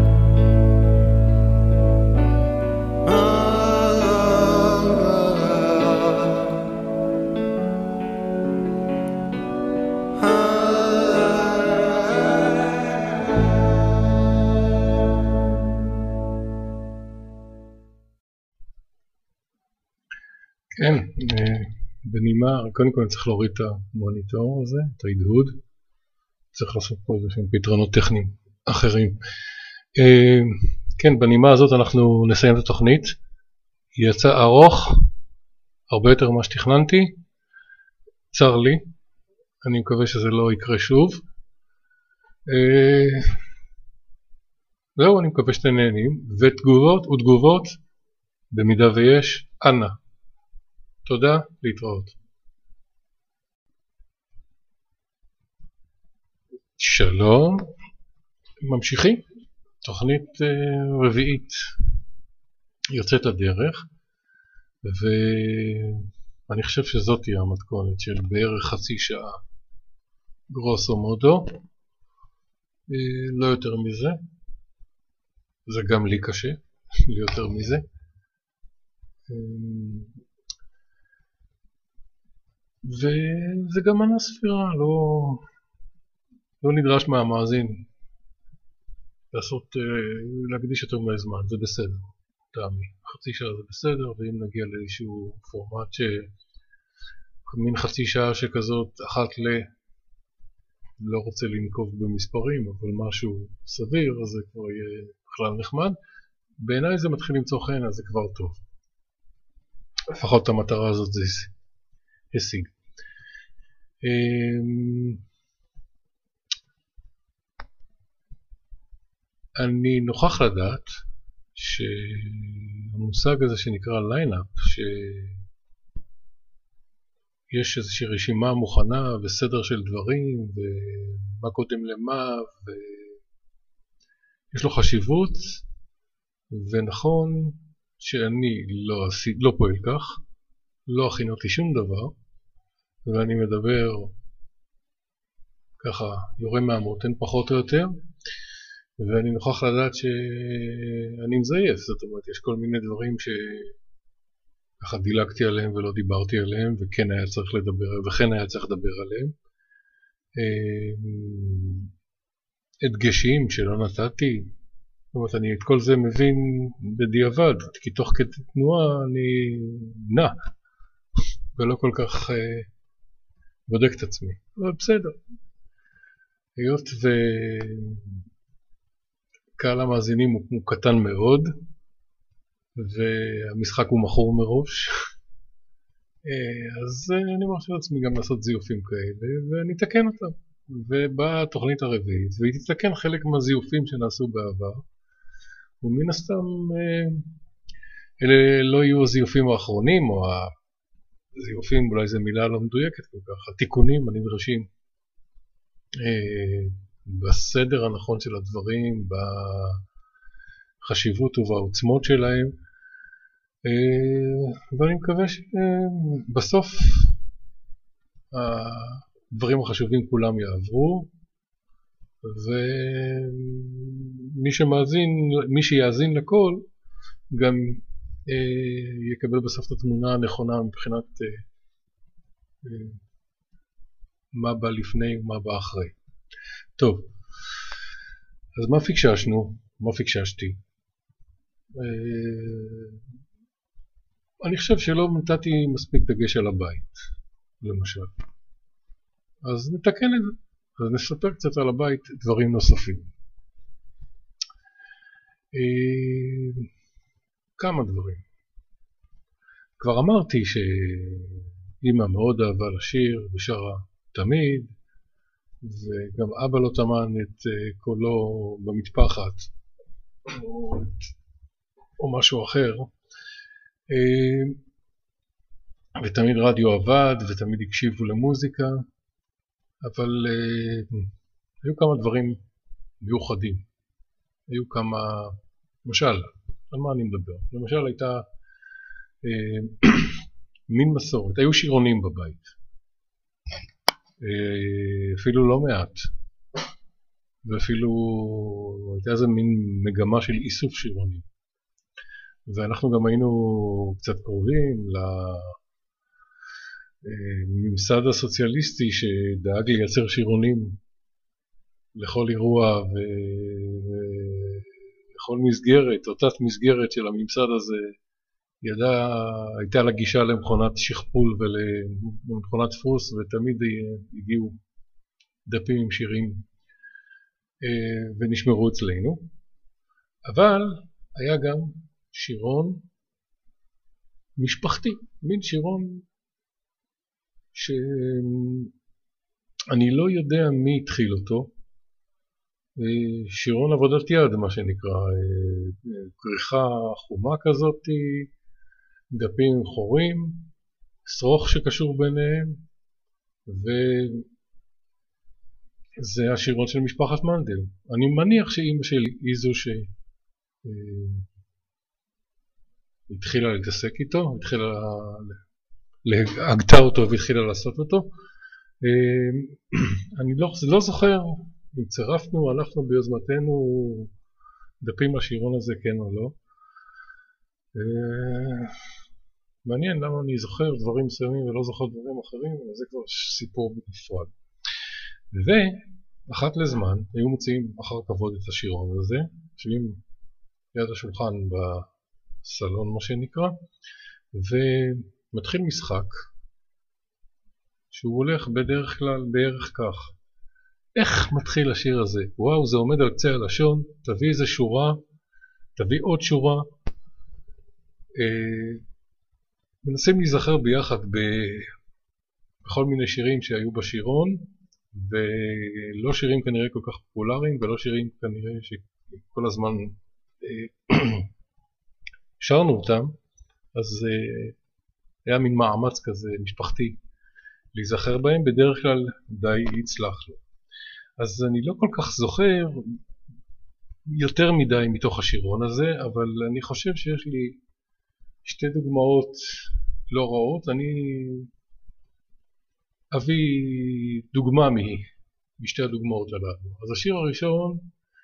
כן, בנימה, קודם כל אני צריך להוריד את המוניטור הזה, את ההדהוד. צריך לעשות פה איזה שהם פתרונות טכניים אחרים. כן, בנימה הזאת אנחנו נסיים את התוכנית. היא יצאה ארוך, הרבה יותר ממה שתכננתי. צר לי, אני מקווה שזה לא יקרה שוב. זהו, אני מקווה שאתם נהנים. ותגובות ותגובות, במידה ויש, אנא. תודה, להתראות. שלום, ממשיכים. תוכנית uh, רביעית יוצאת לדרך, ואני חושב שזאת תהיה המתכונת של בערך חצי שעה, גרוסו מודו, uh, לא יותר מזה. זה גם לי קשה, לי יותר מזה. Uh, וזה גם מנה ספירה, לא, לא נדרש מהמאזין לעשות, להקדיש יותר מהזמן, זה בסדר, טעמי. חצי שעה זה בסדר, ואם נגיע לאיזשהו פורמט שמין חצי שעה שכזאת, אחת ל... לא רוצה לנקוב במספרים, אבל משהו סביר, אז זה כבר יהיה בכלל נחמד. בעיניי זה מתחיל למצוא חן, אז זה כבר טוב. לפחות את המטרה הזאת זה השיג. אני נוכח לדעת שהמושג הזה שנקרא ליינאפ, שיש איזושהי רשימה מוכנה וסדר של דברים ומה קודם למה, ויש לו חשיבות, ונכון שאני לא, לא פועל כך, לא הכינותי שום דבר, ואני מדבר ככה יורה מהמותן פחות או יותר, ואני נוכח לדעת שאני מזייף. זאת אומרת, יש כל מיני דברים שככה דילגתי עליהם ולא דיברתי עליהם, וכן היה צריך לדבר, וכן היה צריך לדבר עליהם. הדגשים שלא נתתי, זאת אומרת, אני את כל זה מבין בדיעבד, כי תוך כדי תנועה אני נע, ולא כל כך בודק את עצמי, אבל בסדר. היות וקהל המאזינים הוא, הוא קטן מאוד, והמשחק הוא מכור מראש, אז אני מרשה לעצמי גם לעשות זיופים כאלה, ואני אתקן אותם. ובאה התוכנית הרביעית, והיא תתקן חלק מהזיופים שנעשו בעבר, ומן הסתם אלה לא יהיו הזיופים האחרונים, או הזיופים, אולי זו מילה לא מדויקת כל כך, התיקונים הנדרשים בסדר הנכון של הדברים, בחשיבות ובעוצמות שלהם, ואני מקווה שבסוף הדברים החשובים כולם יעברו, ומי שמאזין, מי שיאזין לכל, גם יקבל בסוף את התמונה הנכונה מבחינת מה בא לפני ומה בא אחרי. טוב, אז מה פיקששנו? מה פיקששתי? אני חושב שלא נתתי מספיק דגש על הבית, למשל. אז נתקן את זה. אז נספר קצת על הבית דברים נוספים. כמה דברים. כבר אמרתי שאמא מאוד אהבה לשיר ושרה תמיד, וגם אבא לא טמן את קולו במטפחת או, או משהו אחר, ותמיד רדיו עבד ותמיד הקשיבו למוזיקה, אבל היו כמה דברים מיוחדים. היו כמה, למשל, על מה אני מדבר? למשל הייתה מין מסורת. היו שירונים בבית, אפילו לא מעט, ואפילו הייתה איזה מין מגמה של איסוף שירונים. ואנחנו גם היינו קצת קרובים לממסד הסוציאליסטי שדאג לייצר שירונים לכל אירוע ולכל מסגרת, או תת מסגרת של הממסד הזה. ידע, הייתה לה גישה למכונת שכפול ולמכונת דפוס, ותמיד הגיעו דפים עם שירים ונשמרו אצלנו. אבל היה גם שירון משפחתי, מין שירון שאני לא יודע מי התחיל אותו, שירון עבודת יד, מה שנקרא, כריכה חומה כזאת, דפים חורים, שרוך שקשור ביניהם, וזה השירון של משפחת מנדל. אני מניח שאמא שלי היא זו שהתחילה להתעסק איתו, התחילה להגתה אותו והתחילה לעשות אותו. אני לא, לא זוכר אם צירפנו, הלכנו ביוזמתנו דפים לשירון הזה, כן או לא. מעניין למה אני זוכר דברים מסוימים ולא זוכר דברים אחרים, אבל זה כבר סיפור בנפרד. ואחת לזמן היו מוציאים אחר כבוד את השירון הזה, יושבים ליד השולחן בסלון מה שנקרא, ומתחיל משחק שהוא הולך בדרך כלל בערך כך. איך מתחיל השיר הזה? וואו, זה עומד על קצה הלשון, תביא איזה שורה, תביא עוד שורה. אה, מנסים להיזכר ביחד בכל מיני שירים שהיו בשירון, ולא שירים כנראה כל כך פופולריים, ולא שירים כנראה שכל הזמן אה, שרנו אותם, אז אה, היה מין מאמץ כזה משפחתי להיזכר בהם, בדרך כלל די יצלח לו. אז אני לא כל כך זוכר יותר מדי מתוך השירון הזה, אבל אני חושב שיש לי שתי דוגמאות לא רעות. אני אביא דוגמה משתי הדוגמאות הללו. אז השיר הראשון,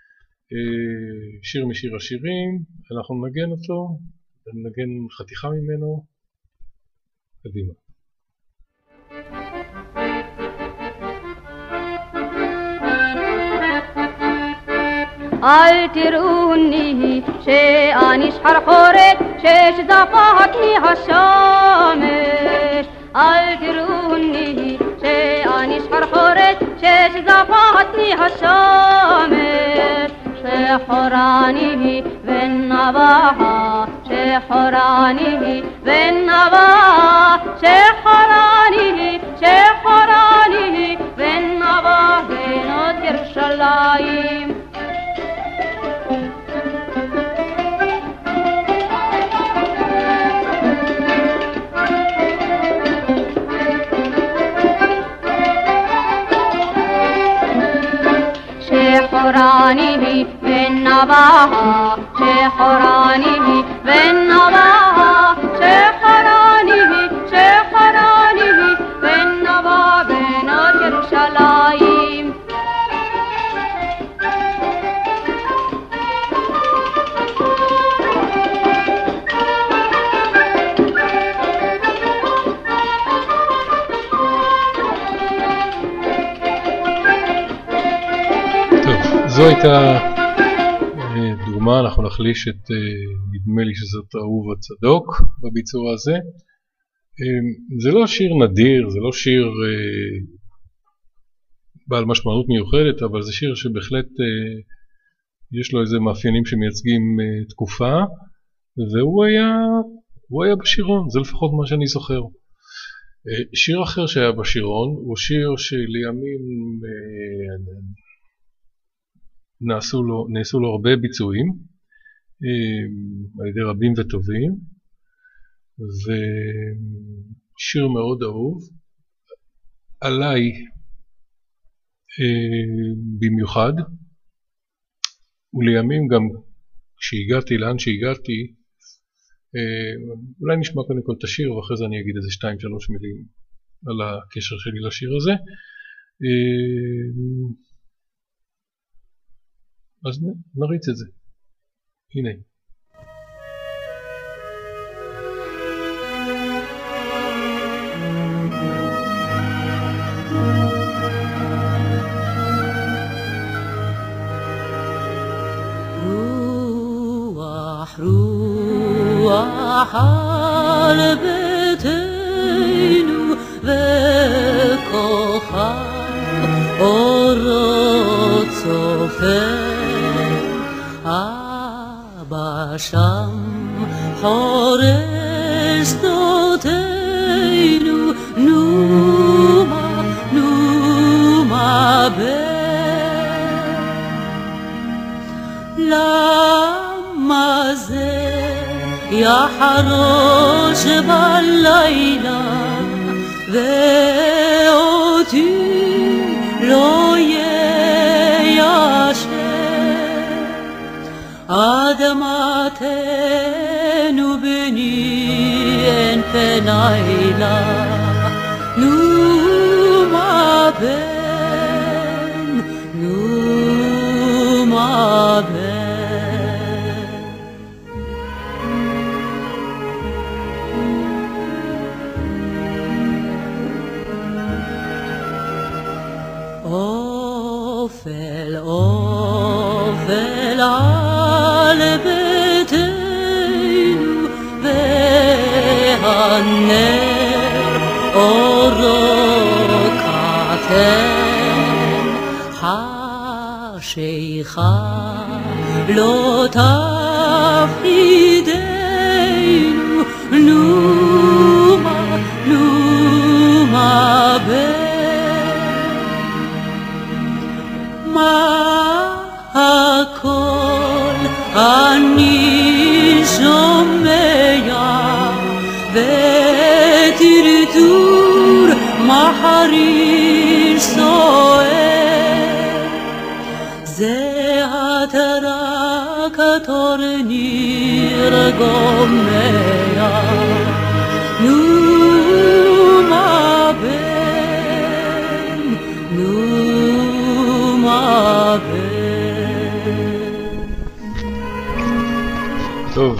שיר משיר השירים, אנחנו נגן אותו, נגן חתיכה ממנו, קדימה. אל תראוני שאני שחרחורת ששזפתני השמש, אל תראוני שאני שחרחורת ששזפתני השמש, שחורני ונבעה, שחורני ונבעה, שחורני, שחורני ונבעה בנות ירושלים. شحرانه بالنباها شحرانه بالنباها شحرانه شحرانه بالنبا بنات يرشلايم זו הייתה דוגמה, אנחנו נחליש את, נדמה לי שזאת אהוב הצדוק בביצוע הזה. זה לא שיר נדיר, זה לא שיר בעל משמעות מיוחדת, אבל זה שיר שבהחלט יש לו איזה מאפיינים שמייצגים תקופה, והוא היה, הוא היה בשירון, זה לפחות מה שאני זוכר. שיר אחר שהיה בשירון הוא שיר שלימים נעשו לו, נעשו לו הרבה ביצועים על ידי רבים וטובים, ושיר מאוד אהוב עליי במיוחד, ולימים גם כשהגעתי לאן שהגעתי אולי נשמע קודם כל את השיר ואחרי זה אני אגיד איזה שתיים שלוש מילים על הקשר שלי לשיר הזה. אז נריץ את זה. הנה. רוח רוח על ביתנו וכוכב אורות צופן אבא שם חורש שדותינו נומה נומה בן למה זה יחרוש בלילה ואותי לא יישב אדמתנו בני אין פנילה נומה בן נומה בן אופל אופל על ביתנו והנר אורו קטן חשיכה לא תפחידנו נומה נומה בן מה הכל אני שומע וטרטור מחריש סוער זה הטרקטור ניר גומע נומה בן נומה בן טוב,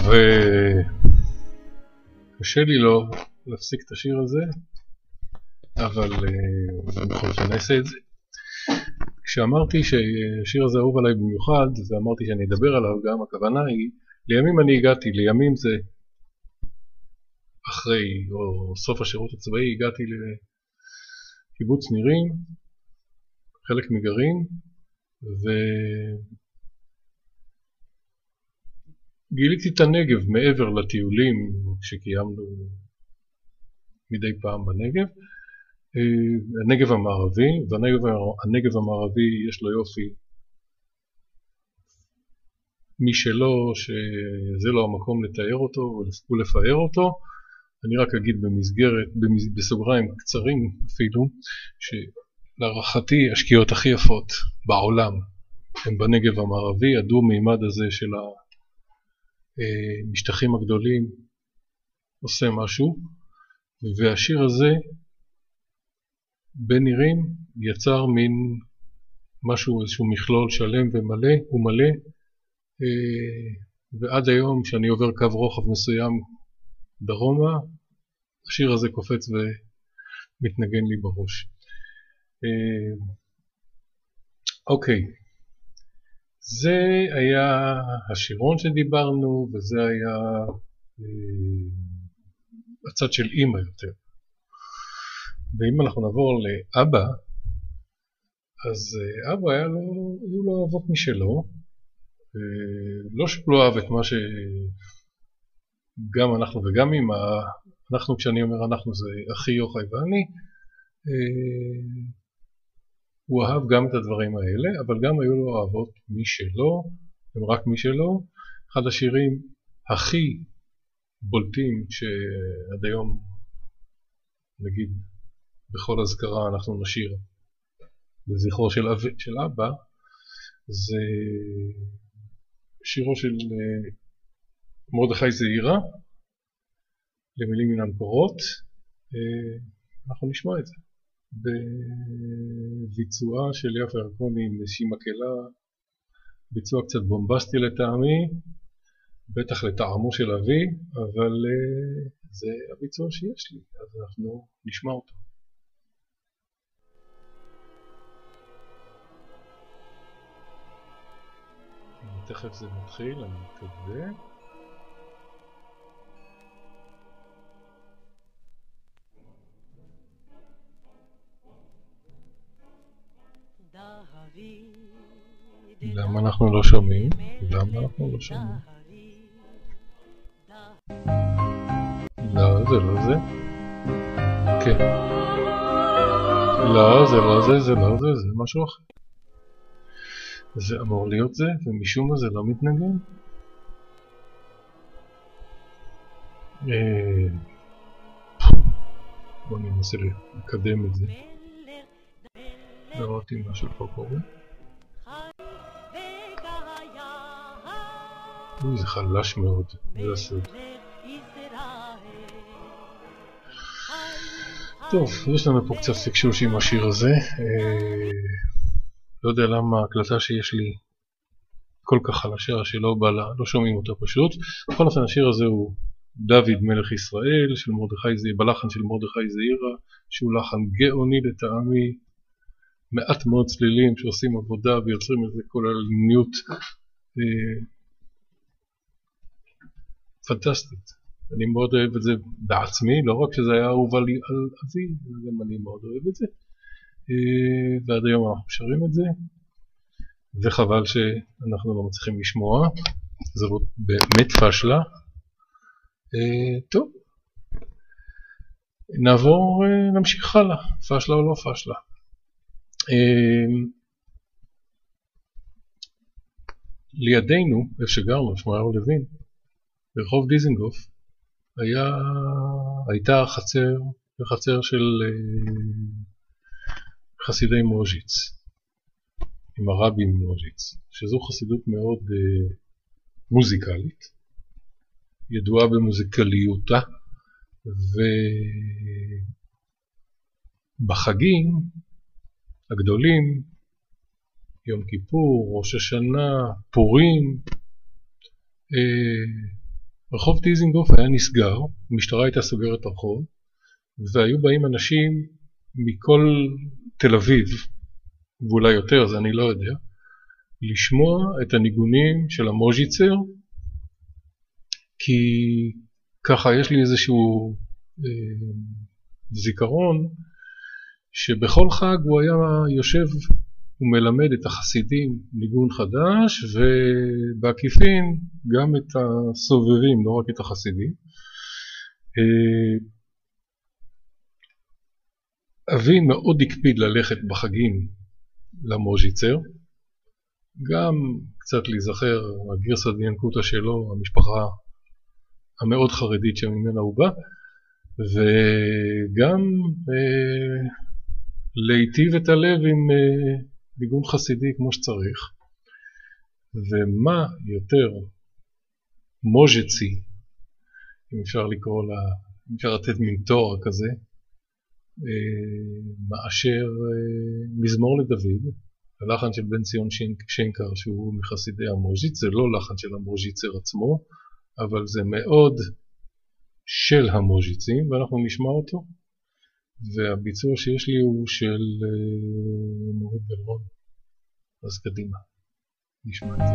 קשה לי לא להפסיק את השיר הזה, אבל בכל זאת נעשה את זה. כשאמרתי שהשיר הזה אהוב עליי במיוחד, ואמרתי שאני אדבר עליו גם, הכוונה היא, לימים אני הגעתי, לימים זה אחרי, או סוף השירות הצבאי, הגעתי לקיבוץ נירים, חלק מגרעין, ו... גיליתי את הנגב מעבר לטיולים שקיימנו מדי פעם בנגב, הנגב המערבי, והנגב המערבי יש לו יופי משלו שזה לא המקום לתאר אותו ולפאר אותו. אני רק אגיד במסגרת, בסוגריים קצרים אפילו, שלהערכתי השקיעות הכי יפות בעולם הם בנגב המערבי. הדו-מימד הזה של המשטחים הגדולים עושה משהו, והשיר הזה בנירים יצר מין משהו, איזשהו מכלול שלם ומלא ומלא, ועד היום שאני עובר קו רוחב מסוים דרומה, השיר הזה קופץ ומתנגן לי בראש. אוקיי, זה היה השירון שדיברנו, וזה היה הצד של אמא יותר. ואם אנחנו נעבור לאבא, אז אבא היה לו, היו לו אהבות משלו, לא שהוא לא אהב את מה שגם אנחנו וגם אמא, אנחנו, כשאני אומר אנחנו, זה אחי יוחאי ואני, הוא אהב גם את הדברים האלה, אבל גם היו לו אהבות משלו, הם רק משלו. אחד השירים הכי בולטים שעד היום, נגיד, בכל הזכרה אנחנו נשיר לזכרו של, אב, של אבא, זה שירו של מרדכי זעירא, למילים מן המקורות. אנחנו נשמע את זה בביצועה של יפה ירקוני עם איזושהי מקהלה, ביצוע קצת בומבסטי לטעמי, בטח לטעמו של אבי, אבל זה הביצוע שיש לי, אז אנחנו נשמע אותו. תכף זה מתחיל, אני מקווה. למה אנחנו לא שומעים? למה אנחנו לא שומעים? לא, זה לא זה. כן. לא, זה לא זה, זה לא זה, זה משהו אחר. זה אמור להיות זה, ומשום מה זה לא מתנגן. בואו ננסה לקדם את זה. לראות אם משהו פה קורה. אוי, זה חלש מאוד, זה הסוד. טוב, יש לנו פה קצת פקשוש עם השיר הזה. לא יודע למה ההקלטה שיש לי כל כך חלשה שלא בא לה, לא שומעים אותה פשוט. בכל אופן השיר הזה הוא דוד מלך ישראל של מרדכי זעירא, בלחן של מרדכי זעירא, שהוא לחן גאוני לטעמי, מעט מאוד צלילים שעושים עבודה ויוצרים איזה כוללניות אה, פנטסטית. אני מאוד אוהב את זה בעצמי, לא רק שזה היה אהוב על אבי, גם אני מאוד אוהב את זה. ועד היום אנחנו שרים את זה, וחבל שאנחנו לא מצליחים לשמוע, זאת באמת פשלה. טוב, נעבור, נמשיך הלאה, פשלה או לא פשלה. לידינו, איפה שגרנו, שמואל לוין, ברחוב דיזנגוף, היה, הייתה חצר, חצר של חסידי מוז'יץ, עם הרבי מוז'יץ, שזו חסידות מאוד uh, מוזיקלית, ידועה במוזיקליותה, ובחגים הגדולים, יום כיפור, ראש השנה, פורים, uh, רחוב דיזנגוף היה נסגר, המשטרה הייתה סוגרת הרחוב, והיו באים אנשים מכל תל אביב, ואולי יותר, זה אני לא יודע, לשמוע את הניגונים של המוז'יצר, כי ככה יש לי איזשהו אה, זיכרון, שבכל חג הוא היה יושב ומלמד את החסידים ניגון חדש, ובעקיפין גם את הסובבים, לא רק את החסידים. אה, אבי מאוד הקפיד ללכת בחגים למוז'יצר, גם קצת להיזכר הגרסא דינקותא שלו, המשפחה המאוד חרדית שממנה הוא בא, וגם אה, להיטיב את הלב עם אה, ניגון חסידי כמו שצריך. ומה יותר מוז'צי, אם אפשר לקרוא לה, אם אפשר לתת מין תואר כזה, מאשר מזמור לדוד, הלחן של בן ציון שנקר שהוא מחסידי המוז'יץ, זה לא לחן של המוז'יצר עצמו, אבל זה מאוד של המוז'יצים, ואנחנו נשמע אותו, והביצוע שיש לי הוא של נורית גלרון, אז קדימה, נשמע את זה.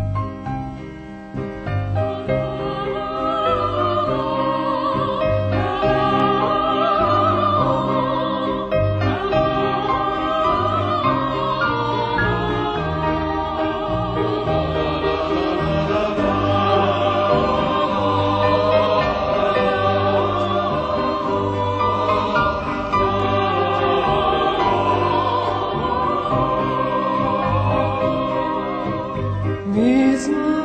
Mizmor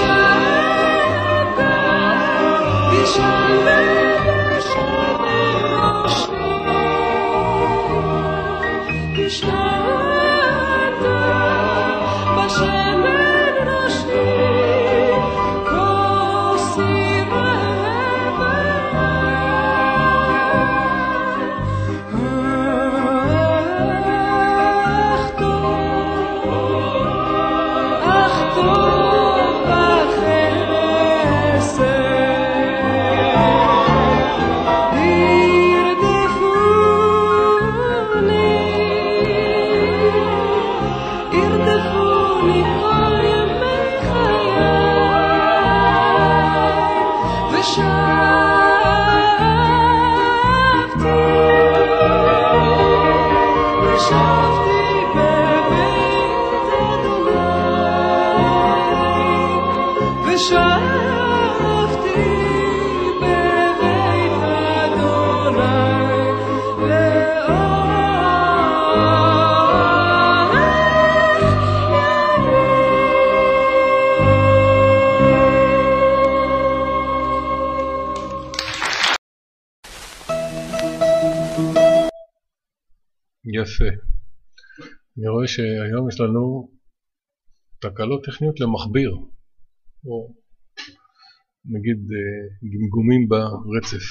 יפה. אני רואה שהיום יש לנו תקלות טכניות למחביר, או נגיד גמגומים ברצף.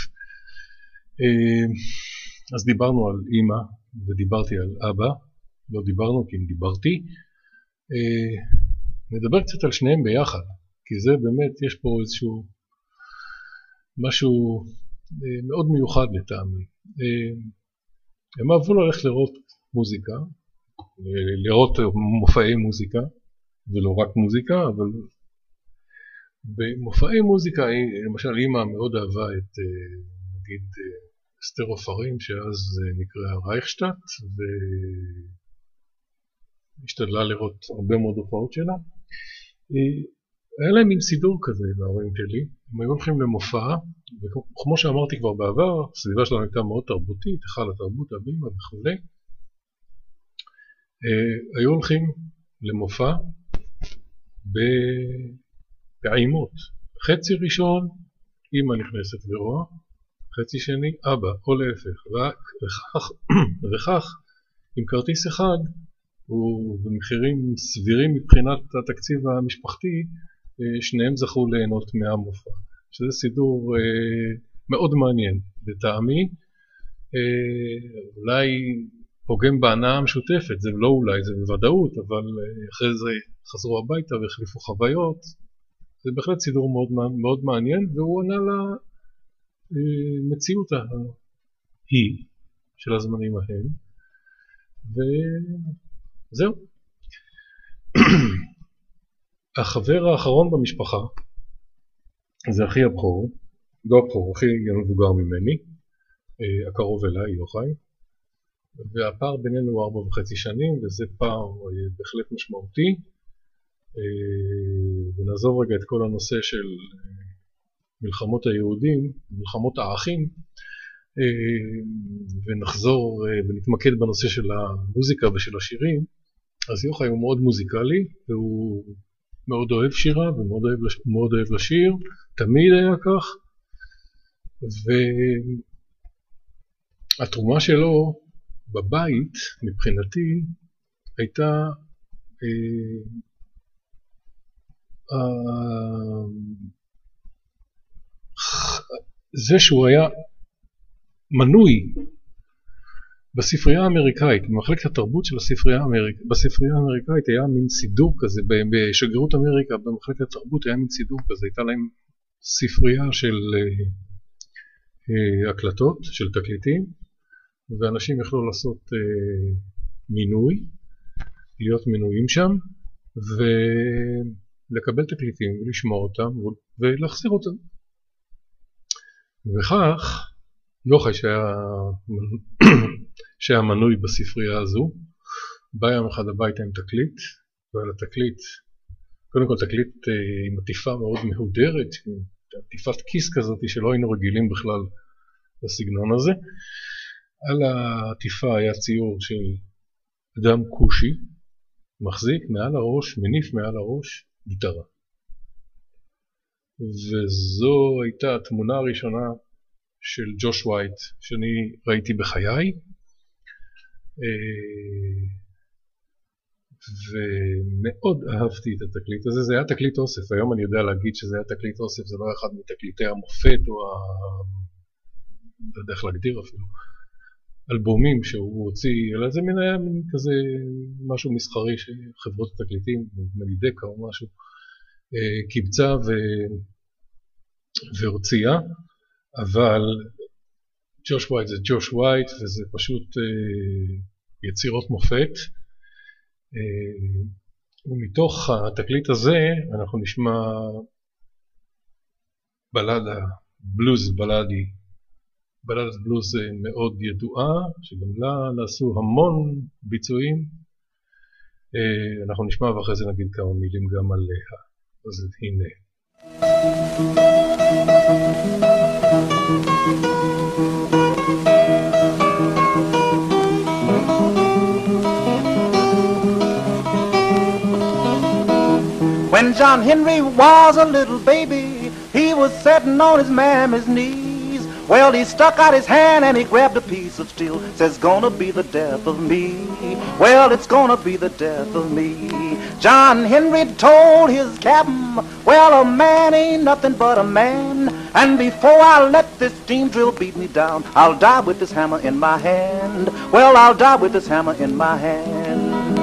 אז דיברנו על אמא ודיברתי על אבא, לא דיברנו כי אם דיברתי. נדבר קצת על שניהם ביחד, כי זה באמת, יש פה איזשהו משהו מאוד מיוחד לטעמי. הם אהבו ללכת לראות מוזיקה, לראות מופעי מוזיקה, ולא רק מוזיקה, אבל במופעי מוזיקה, למשל אמא מאוד אהבה את, נגיד, אסתר עופרים, שאז נקרא רייכשטאט, והשתדלה לראות הרבה מאוד הופעות שלה. היה להם מין סידור כזה להורים שלי, הם היו הולכים למופע, וכמו שאמרתי כבר בעבר, הסביבה שלנו הייתה מאוד תרבותית, היכל התרבות, הבימה וכו'. היו הולכים למופע בפעימות. חצי ראשון, אמא נכנסת ורואה, חצי שני, אבא, או להפך, וכך, וכך, עם כרטיס אחד, ובמחירים סבירים מבחינת התקציב המשפחתי, שניהם זכו ליהנות מהמופע. שזה סידור אה, מאוד מעניין, לטעמי. אה, אולי פוגם בהנאה המשותפת, זה לא אולי, זה בוודאות, אבל אה, אחרי זה חזרו הביתה והחליפו חוויות. זה בהחלט סידור מאוד, מאוד מעניין, והוא ענה למציאות אה, ההיא של הזמנים ההם. וזהו. החבר האחרון במשפחה, זה אחי הבכור, לא הבכור, אחי המבוגר ממני, הקרוב אליי, יוחאי, והפער בינינו הוא ארבע וחצי שנים, וזה פער בהחלט משמעותי, ונעזוב רגע את כל הנושא של מלחמות היהודים, מלחמות האחים, ונחזור ונתמקד בנושא של המוזיקה ושל השירים. אז יוחאי הוא מאוד מוזיקלי, והוא מאוד אוהב שירה ומאוד אוהב, מאוד אוהב לשיר, תמיד היה כך, והתרומה שלו בבית, מבחינתי, הייתה אה, אה, זה שהוא היה מנוי בספרייה האמריקאית, במחלקת התרבות של הספרייה האמריקאית, בספרייה האמריקאית היה מין סידור כזה, בשגרירות אמריקה, במחלקת התרבות היה מין סידור כזה, הייתה להם ספרייה של אה, הקלטות, של תקליטים, ואנשים יכלו לעשות אה, מינוי, להיות מנויים שם, ולקבל תקליטים ולשמוע אותם ולהחזיר אותם. וכך, יוחאי שהיה, שהיה מנוי בספרייה הזו, בא יום אחד הביתה עם תקליט, ועל התקליט, קודם כל תקליט עם עטיפה מאוד מהודרת, עם עטיפת כיס כזאת שלא היינו רגילים בכלל בסגנון הזה. על העטיפה היה ציור של אדם כושי, מחזיק מעל הראש, מניף מעל הראש, גיטרה. וזו הייתה התמונה הראשונה של ג'וש ווייט שאני ראיתי בחיי, ומאוד אהבתי את התקליט הזה. זה היה תקליט אוסף, היום אני יודע להגיד שזה היה תקליט אוסף, זה לא אחד מתקליטי המופת או ה... לא יודע איך להגדיר אפילו, אלבומים שהוא הוציא, אלא זה מין היה מין כזה משהו מסחרי שחברות התקליטים, מלידקה או משהו, קיבצה ו... והוציאה, אבל ג'וש ווייט זה ג'וש ווייט, וזה פשוט יצירות מופת. ומתוך התקליט הזה אנחנו נשמע בלדה, בלוז בלדי, בלדת בלוז מאוד ידועה, שגם לה נעשו המון ביצועים. אנחנו נשמע ואחרי זה נגיד כמה מילים גם עליה. אז הנה. When John Henry was a little baby, he was sitting on his mammy's knees. Well, he stuck out his hand and he grabbed a piece of steel. Says, gonna be the death of me. Well, it's gonna be the death of me. John Henry told his captain, well, a man ain't nothing but a man. And before I let this steam drill beat me down, I'll die with this hammer in my hand. Well, I'll die with this hammer in my hand.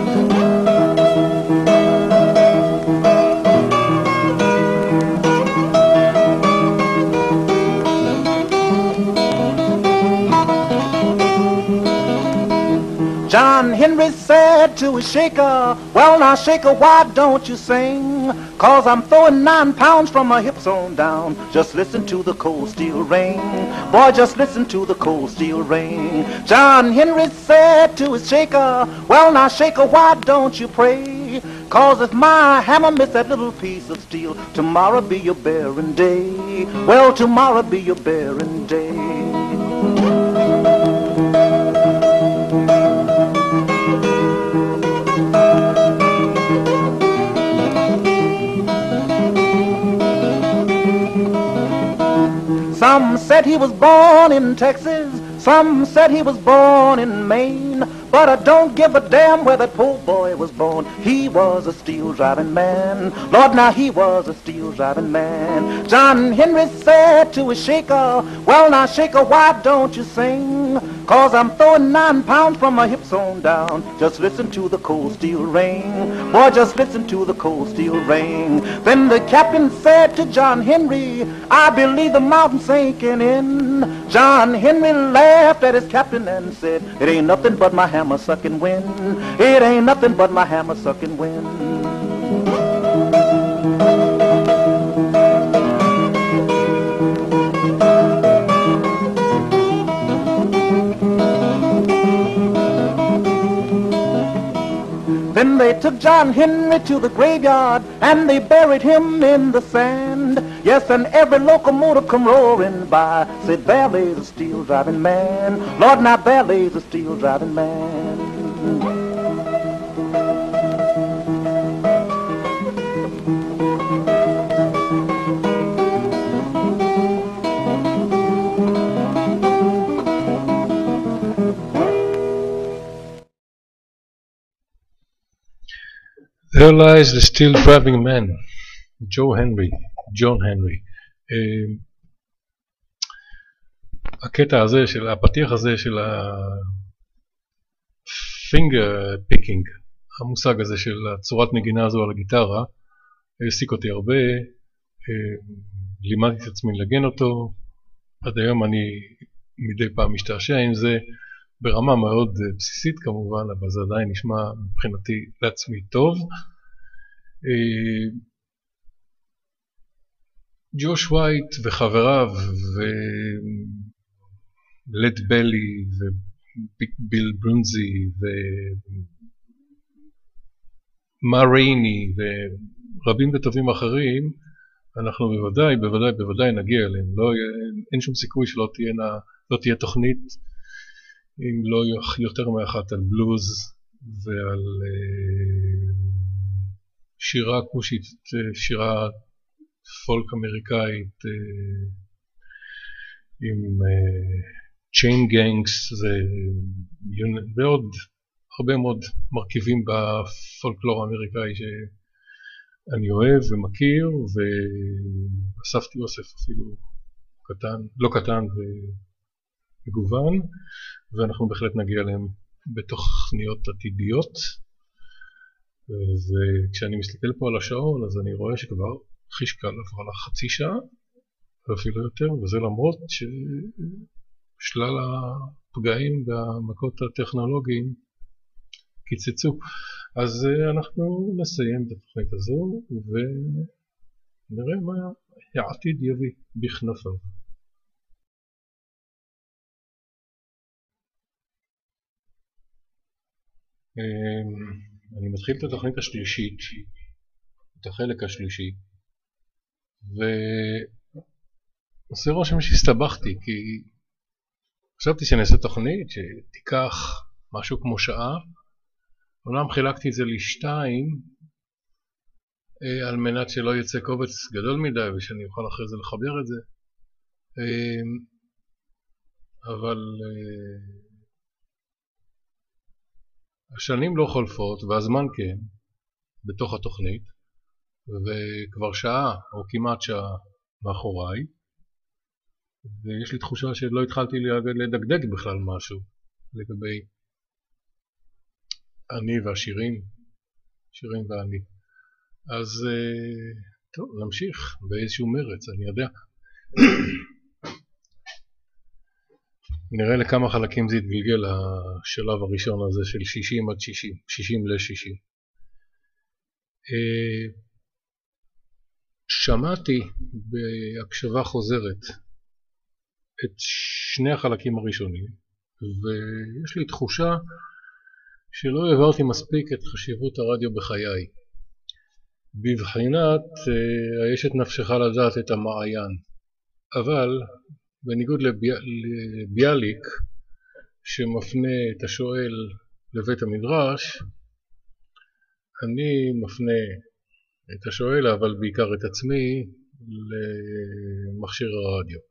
John Henry said to his shaker, well now shaker, why don't you sing? Cause I'm throwing nine pounds from my hips on down. Just listen to the cold steel ring. Boy, just listen to the cold steel ring. John Henry said to his shaker, well now shaker, why don't you pray? Cause if my hammer miss that little piece of steel, tomorrow be your barren day. Well, tomorrow be your barren day. Some said he was born in Texas, some said he was born in Maine, but I don't give a damn where that poor boy was born. He was a steel driving man. Lord, now he was a steel driving man. John Henry said to his shaker, well now shaker, why don't you sing? Cause I'm throwing nine pounds from my hips on down. Just listen to the cold steel ring. Boy, just listen to the cold steel ring. Then the captain said to John Henry, I believe the mountain's sinking in. John Henry laughed at his captain and said, it ain't nothing but my hammer sucking wind. It ain't nothing but my hammer sucking wind. Then they took John Henry to the graveyard and they buried him in the sand. Yes, and every locomotive come roaring by, said there lays a steel driving man. Lord, now there lays a steel driving man. There lies the steel driving man, Joe Henry, ג'ון הנרי. הקטע הזה, של הפתיח הזה של ה-finger picking, המושג הזה של הצורת נגינה הזו על הגיטרה, העסיק אותי הרבה, לימדתי את עצמי לגן אותו, עד היום אני מדי פעם משתעשע עם זה, ברמה מאוד בסיסית כמובן, אבל זה עדיין נשמע מבחינתי לעצמי טוב. ג'וש ווייט וחבריו ולד בלי וביל ברונזי ומה רייני ורבים וטובים אחרים, אנחנו בוודאי, בוודאי, בוודאי נגיע אליהם. לא, אין שום סיכוי שלא תהיה, לא תהיה תוכנית אם לא יותר מאחת על בלוז ועל שירה כושית, שירה פולק אמריקאית עם צ'יין גנגס ועוד הרבה מאוד מרכיבים בפולקלור האמריקאי שאני אוהב ומכיר, ואספתי אוסף אפילו קטן, לא קטן ומגוון, ואנחנו בהחלט נגיע אליהם בתוכניות עתידיות. וכשאני מסתכל פה על השעון אז אני רואה שכבר חישקל עברה לה חצי שעה ואפילו יותר, וזה למרות ששלל הפגעים והמכות הטכנולוגיים קיצצו. אז אנחנו נסיים את התוכנית הזו ונראה מה העתיד יביא בכנפיו. אני מתחיל את התוכנית השלישית, את החלק השלישי, ועושה רושם שהסתבכתי, כי חשבתי שאני אעשה תוכנית שתיקח משהו כמו שעה. אומנם חילקתי את זה לשתיים על מנת שלא יצא קובץ גדול מדי ושאני אוכל אחרי זה לחבר את זה, אבל השנים לא חולפות והזמן כן בתוך התוכנית, וכבר שעה או כמעט שעה מאחוריי, ויש לי תחושה שלא התחלתי לדקדק בכלל משהו לגבי אני והשירים, שירים ואני. אז טוב, נמשיך באיזשהו מרץ, אני יודע. נראה לכמה חלקים זה יתגלגל השלב הראשון הזה של שישים עד שישים, שישים ל-שישים. שמעתי בהקשבה חוזרת את שני החלקים הראשונים, ויש לי תחושה שלא העברתי מספיק את חשיבות הרדיו בחיי. בבחינת יש את נפשך לדעת את המעיין, אבל בניגוד לביאליק שמפנה את השואל לבית המדרש, אני מפנה את השואל, אבל בעיקר את עצמי, למכשיר הרדיו.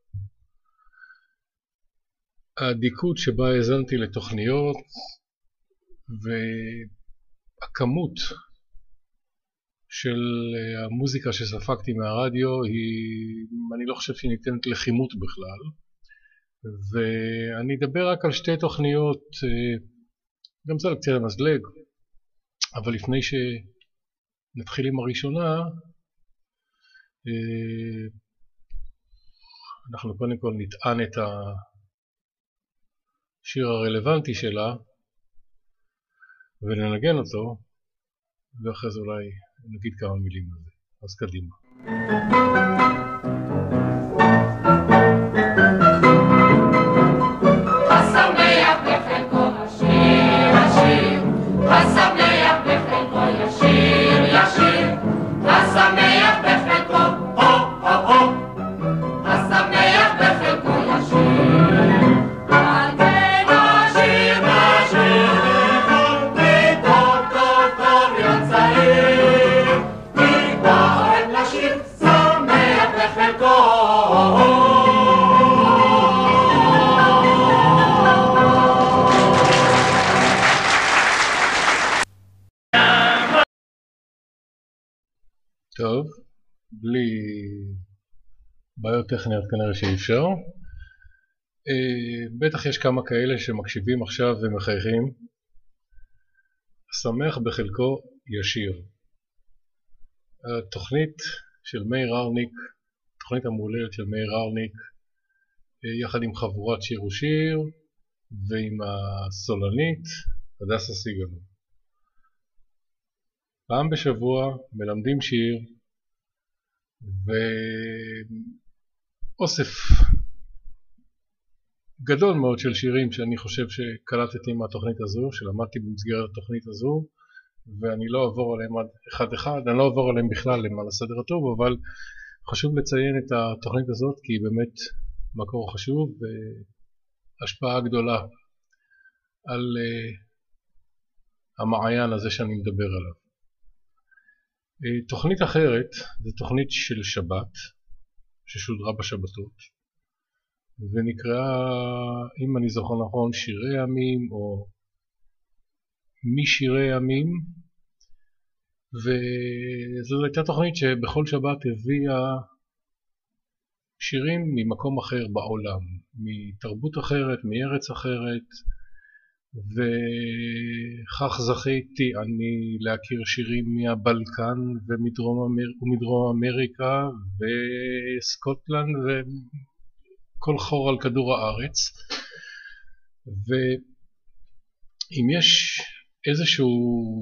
הדיקות שבה האזנתי לתוכניות והכמות של המוזיקה שספקתי מהרדיו היא, אני לא חושב שהיא ניתנת לחימות בכלל, ואני אדבר רק על שתי תוכניות, גם זה על קצה המזלג, אבל לפני שנתחיל עם הראשונה, אנחנו קודם כל נטען את השיר הרלוונטי שלה וננגן אותו, ואחרי זה אולי נגיד כמה מילים על זה. אז קדימה. השמח בחלקו השיר השיר, השמח בחלקו ישיר ישיר, השמח בחלקו הו הו הו, השמח בחלקו ישיר. על כן השיר השיר בכל פתאום טוב טוב יצאים, נקבע אוהב לשיר שמח בחלקו. טוב, בלי בעיות טכניות כנראה שאי אפשר. בטח יש כמה כאלה שמקשיבים עכשיו ומחייכים. השמח בחלקו ישיר. התוכנית של מאיר ארניק, תוכנית המהוללת של מאיר ארניק, יחד עם חבורת שיר ושיר ועם הסולנית הדסה סיגל. פעם בשבוע מלמדים שיר ואוסף גדול מאוד של שירים שאני חושב שקלטתי מהתוכנית הזו, שלמדתי במסגרת התוכנית הזו, ואני לא אעבור עליהם אחד אחד, אני לא אעבור עליהם בכלל למען הסדר הטוב, אבל חשוב לציין את התוכנית הזאת כי היא באמת מקור חשוב והשפעה גדולה על uh, המעיין הזה שאני מדבר עליו. תוכנית אחרת, זו תוכנית של שבת, ששודרה בשבתות, ונקראה, אם אני זוכר נכון, שירי ימים, או משירי ימים, וזו הייתה תוכנית שבכל שבת הביאה שירים ממקום אחר בעולם, מתרבות אחרת, מארץ אחרת, וכך זכיתי אני להכיר שירים מהבלקן ומדרום, אמר... ומדרום אמריקה וסקוטלנד וכל חור על כדור הארץ. ואם יש איזשהו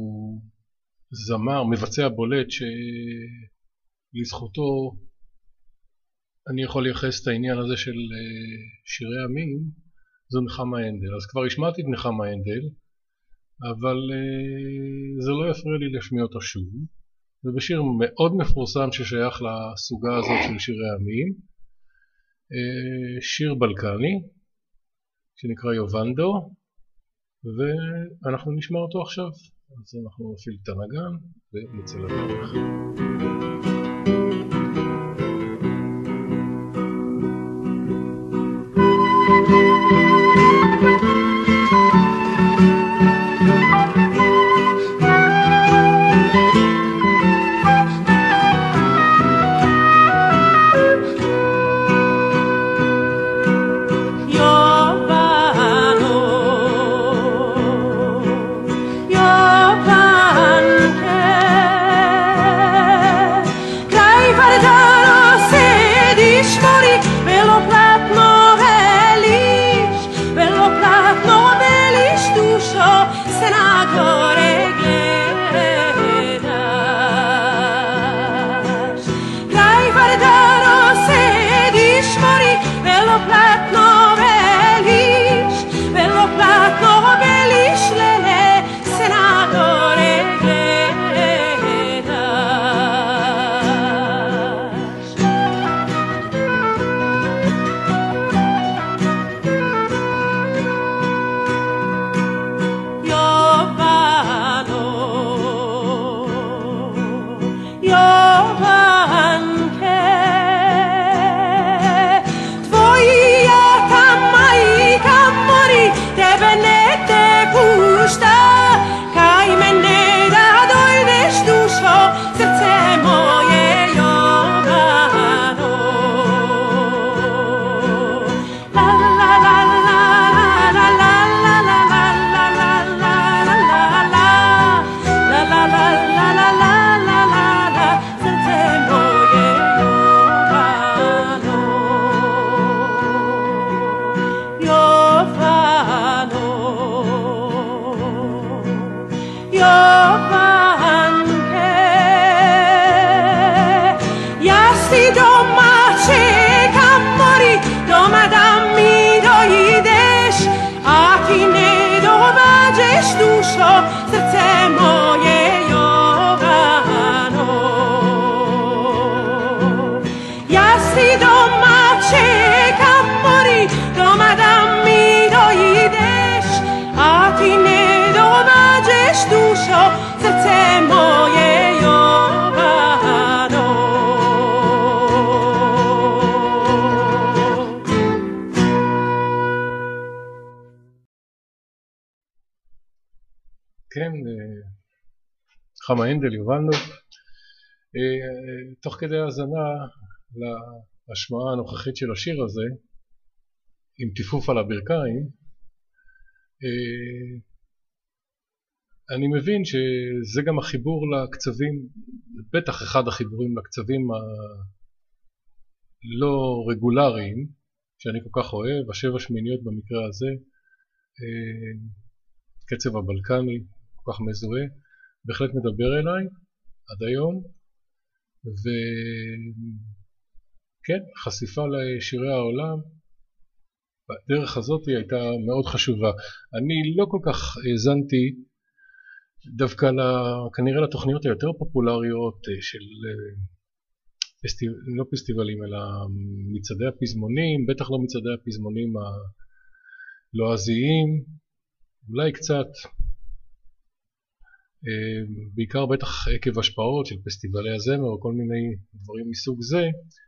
זמר, מבצע בולט שלזכותו אני יכול לייחס את העניין הזה של שירי ימים, זו נחמה הנדל. אז כבר השמעתי את נחמה הנדל, אבל uh, זה לא יפריע לי להשמיע אותה שוב. זה בשיר מאוד מפורסם ששייך לסוגה הזאת של שירי ימים, uh, שיר בלקני שנקרא יובנדו, ואנחנו נשמע אותו עכשיו. אז אנחנו נפעיל את הנגן ונצא לדרך. כן, נחמה הנדל, יובנדו. תוך כדי האזנה להשמעה הנוכחית של השיר הזה, עם טיפוף על הברכיים, אני מבין שזה גם החיבור לקצבים, בטח אחד החיבורים לקצבים הלא רגולריים, שאני כל כך אוהב, השבע שמיניות במקרה הזה, קצב הבלקני, כל כך מזוהה, בהחלט מדבר אליי עד היום, וכן, חשיפה לשירי העולם בדרך הזאת הייתה מאוד חשובה. אני לא כל כך האזנתי דווקא כנראה לתוכניות היותר פופולריות של פסטיב... לא פסטיבלים אלא מצעדי הפזמונים, בטח לא מצעדי הפזמונים הלועזיים, אולי קצת, בעיקר בטח עקב השפעות של פסטיבלי הזמר או כל מיני דברים מסוג זה.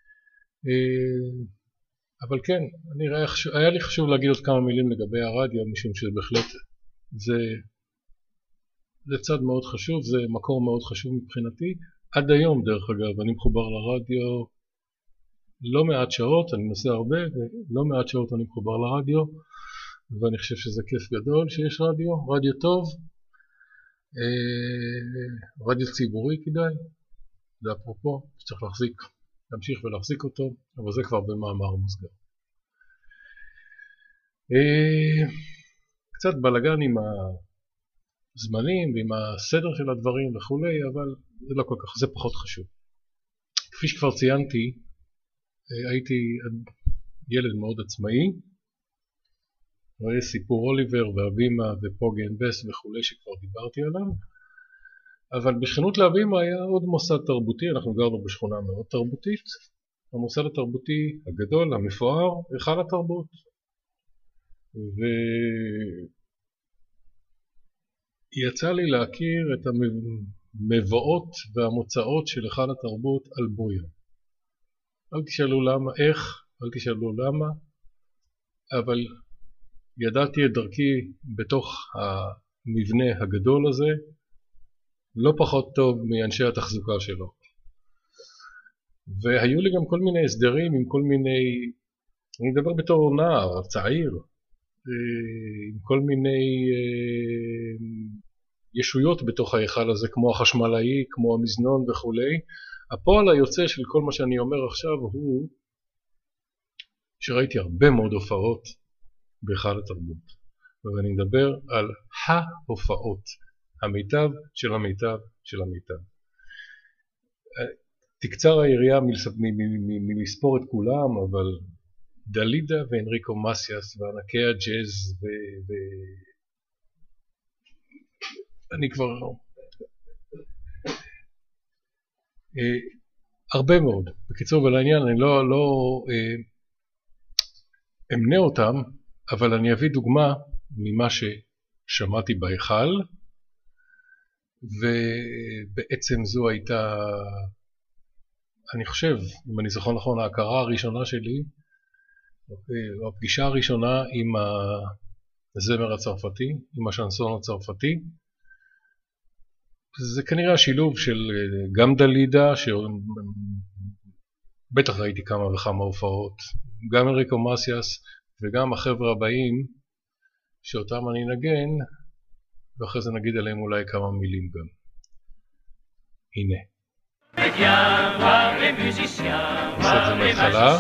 אבל כן, אני ראה, היה לי חשוב להגיד עוד כמה מילים לגבי הרדיו, משום שבהחלט זה, זה צד מאוד חשוב, זה מקור מאוד חשוב מבחינתי. עד היום דרך אגב, אני מחובר לרדיו לא מעט שעות, אני נוסע הרבה ולא מעט שעות אני מחובר לרדיו, ואני חושב שזה כיף גדול שיש רדיו, רדיו טוב, רדיו ציבורי כדאי, זה אפרופו, שצריך להחזיק, להמשיך ולהחזיק אותו, אבל זה כבר במאמר מוסגר. קצת בלגן עם הזמנים ועם הסדר של הדברים וכולי, אבל זה לא כל כך, זה פחות חשוב. כפי שכבר ציינתי, הייתי ילד מאוד עצמאי, רואה סיפור אוליבר והבימה ופוגי אנד בס וכולי שכבר דיברתי עליו, אבל בשכנות להבימה היה עוד מוסד תרבותי, אנחנו גרנו בשכונה מאוד תרבותית, המוסד התרבותי הגדול, המפואר, היכל התרבות. ויצא לי להכיר את המבואות והמוצאות של היכל התרבות על בויה. אל תשאלו למה, איך, אל תשאלו למה, אבל ידעתי את דרכי בתוך המבנה הגדול הזה, לא פחות טוב מאנשי התחזוקה שלו. והיו לי גם כל מיני הסדרים עם כל מיני, אני מדבר בתור נער, צעיר, עם כל מיני ישויות בתוך ההיכל הזה, כמו החשמלאי, כמו המזנון וכולי. הפועל היוצא של כל מה שאני אומר עכשיו הוא שראיתי הרבה מאוד הופעות בהיכל התרבות, ואני מדבר על ההופעות, המיטב של המיטב של המיטב. תקצר היריעה מלספור את כולם, אבל דלידה ואנריקו מסיאס וענקי הג'אז ו... ו... אני כבר... הרבה מאוד. בקיצור ולעניין, אני לא, לא אמנה אותם, אבל אני אביא דוגמה ממה ששמעתי בהיכל, ובעצם זו הייתה, אני חושב, אם אני זוכר נכון, ההכרה הראשונה שלי, הפגישה הראשונה עם הזמר הצרפתי, עם השנסון הצרפתי. זה כנראה השילוב של גם דלידה, שבטח ראיתי כמה וכמה הופעות, גם אנריקו מסיאס וגם החבר'ה הבאים שאותם אני נגן, ואחרי זה נגיד עליהם אולי כמה מילים גם. הנה. נעשה את זה מההתחלה.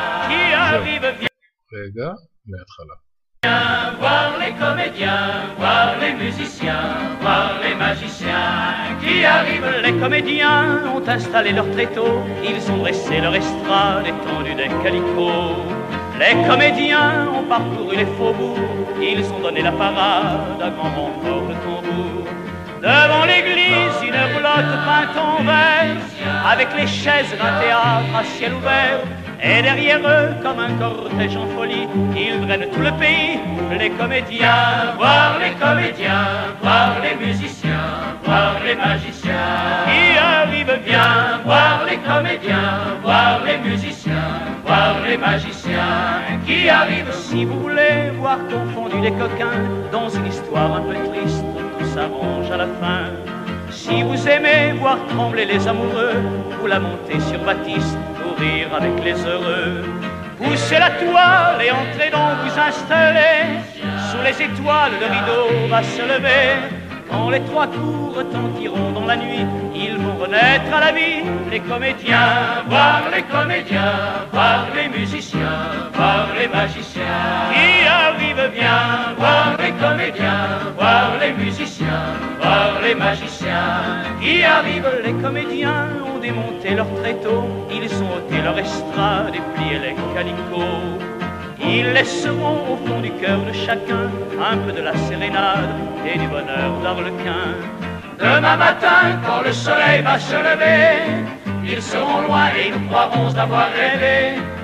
רגע, מההתחלה. Viens voir les comédiens, voir les musiciens, voir les magiciens qui arrivent. Les comédiens ont installé leur tréteau, ils ont dressé leur estrade étendue d'un calicot. Les comédiens ont parcouru les faubourgs, ils ont donné la parade à grand renfort de tambour. Devant l'église, une roulotte peinte en vert, avec les chaises d'un théâtre à ciel ouvert. Et derrière eux, comme un cortège en folie, ils drainent tout le pays, les comédiens. Voir les comédiens, voir les musiciens, voir les magiciens qui arrivent bien. Voir les comédiens, voir les musiciens, voir les magiciens qui arrivent. Si vous voulez voir confondus les coquins dans une histoire un peu triste, tout s'arrange à la fin. Si vous aimez voir trembler les amoureux, vous la montez sur Baptiste, pour rire avec les heureux. Poussez la toile et entrez donc vous installer. Sous les étoiles, le rideau va se lever. Quand les trois coups retentiront dans la nuit, ils vont renaître à la vie. Les comédiens, voir les comédiens, voir les musiciens, voir les magiciens qui arrivent bien. Voir les comédiens, voir les musiciens, voir les magiciens qui arrivent. Les comédiens ont démonté leur tréteau, ils ont ôté leur estrade et plié les calicots. Ils laisseront au fond du cœur de chacun un peu de la sérénade et du bonheur d'Arlequin. Demain matin, quand le soleil va se lever, ils seront loin et nous croirons d'avoir rêvé.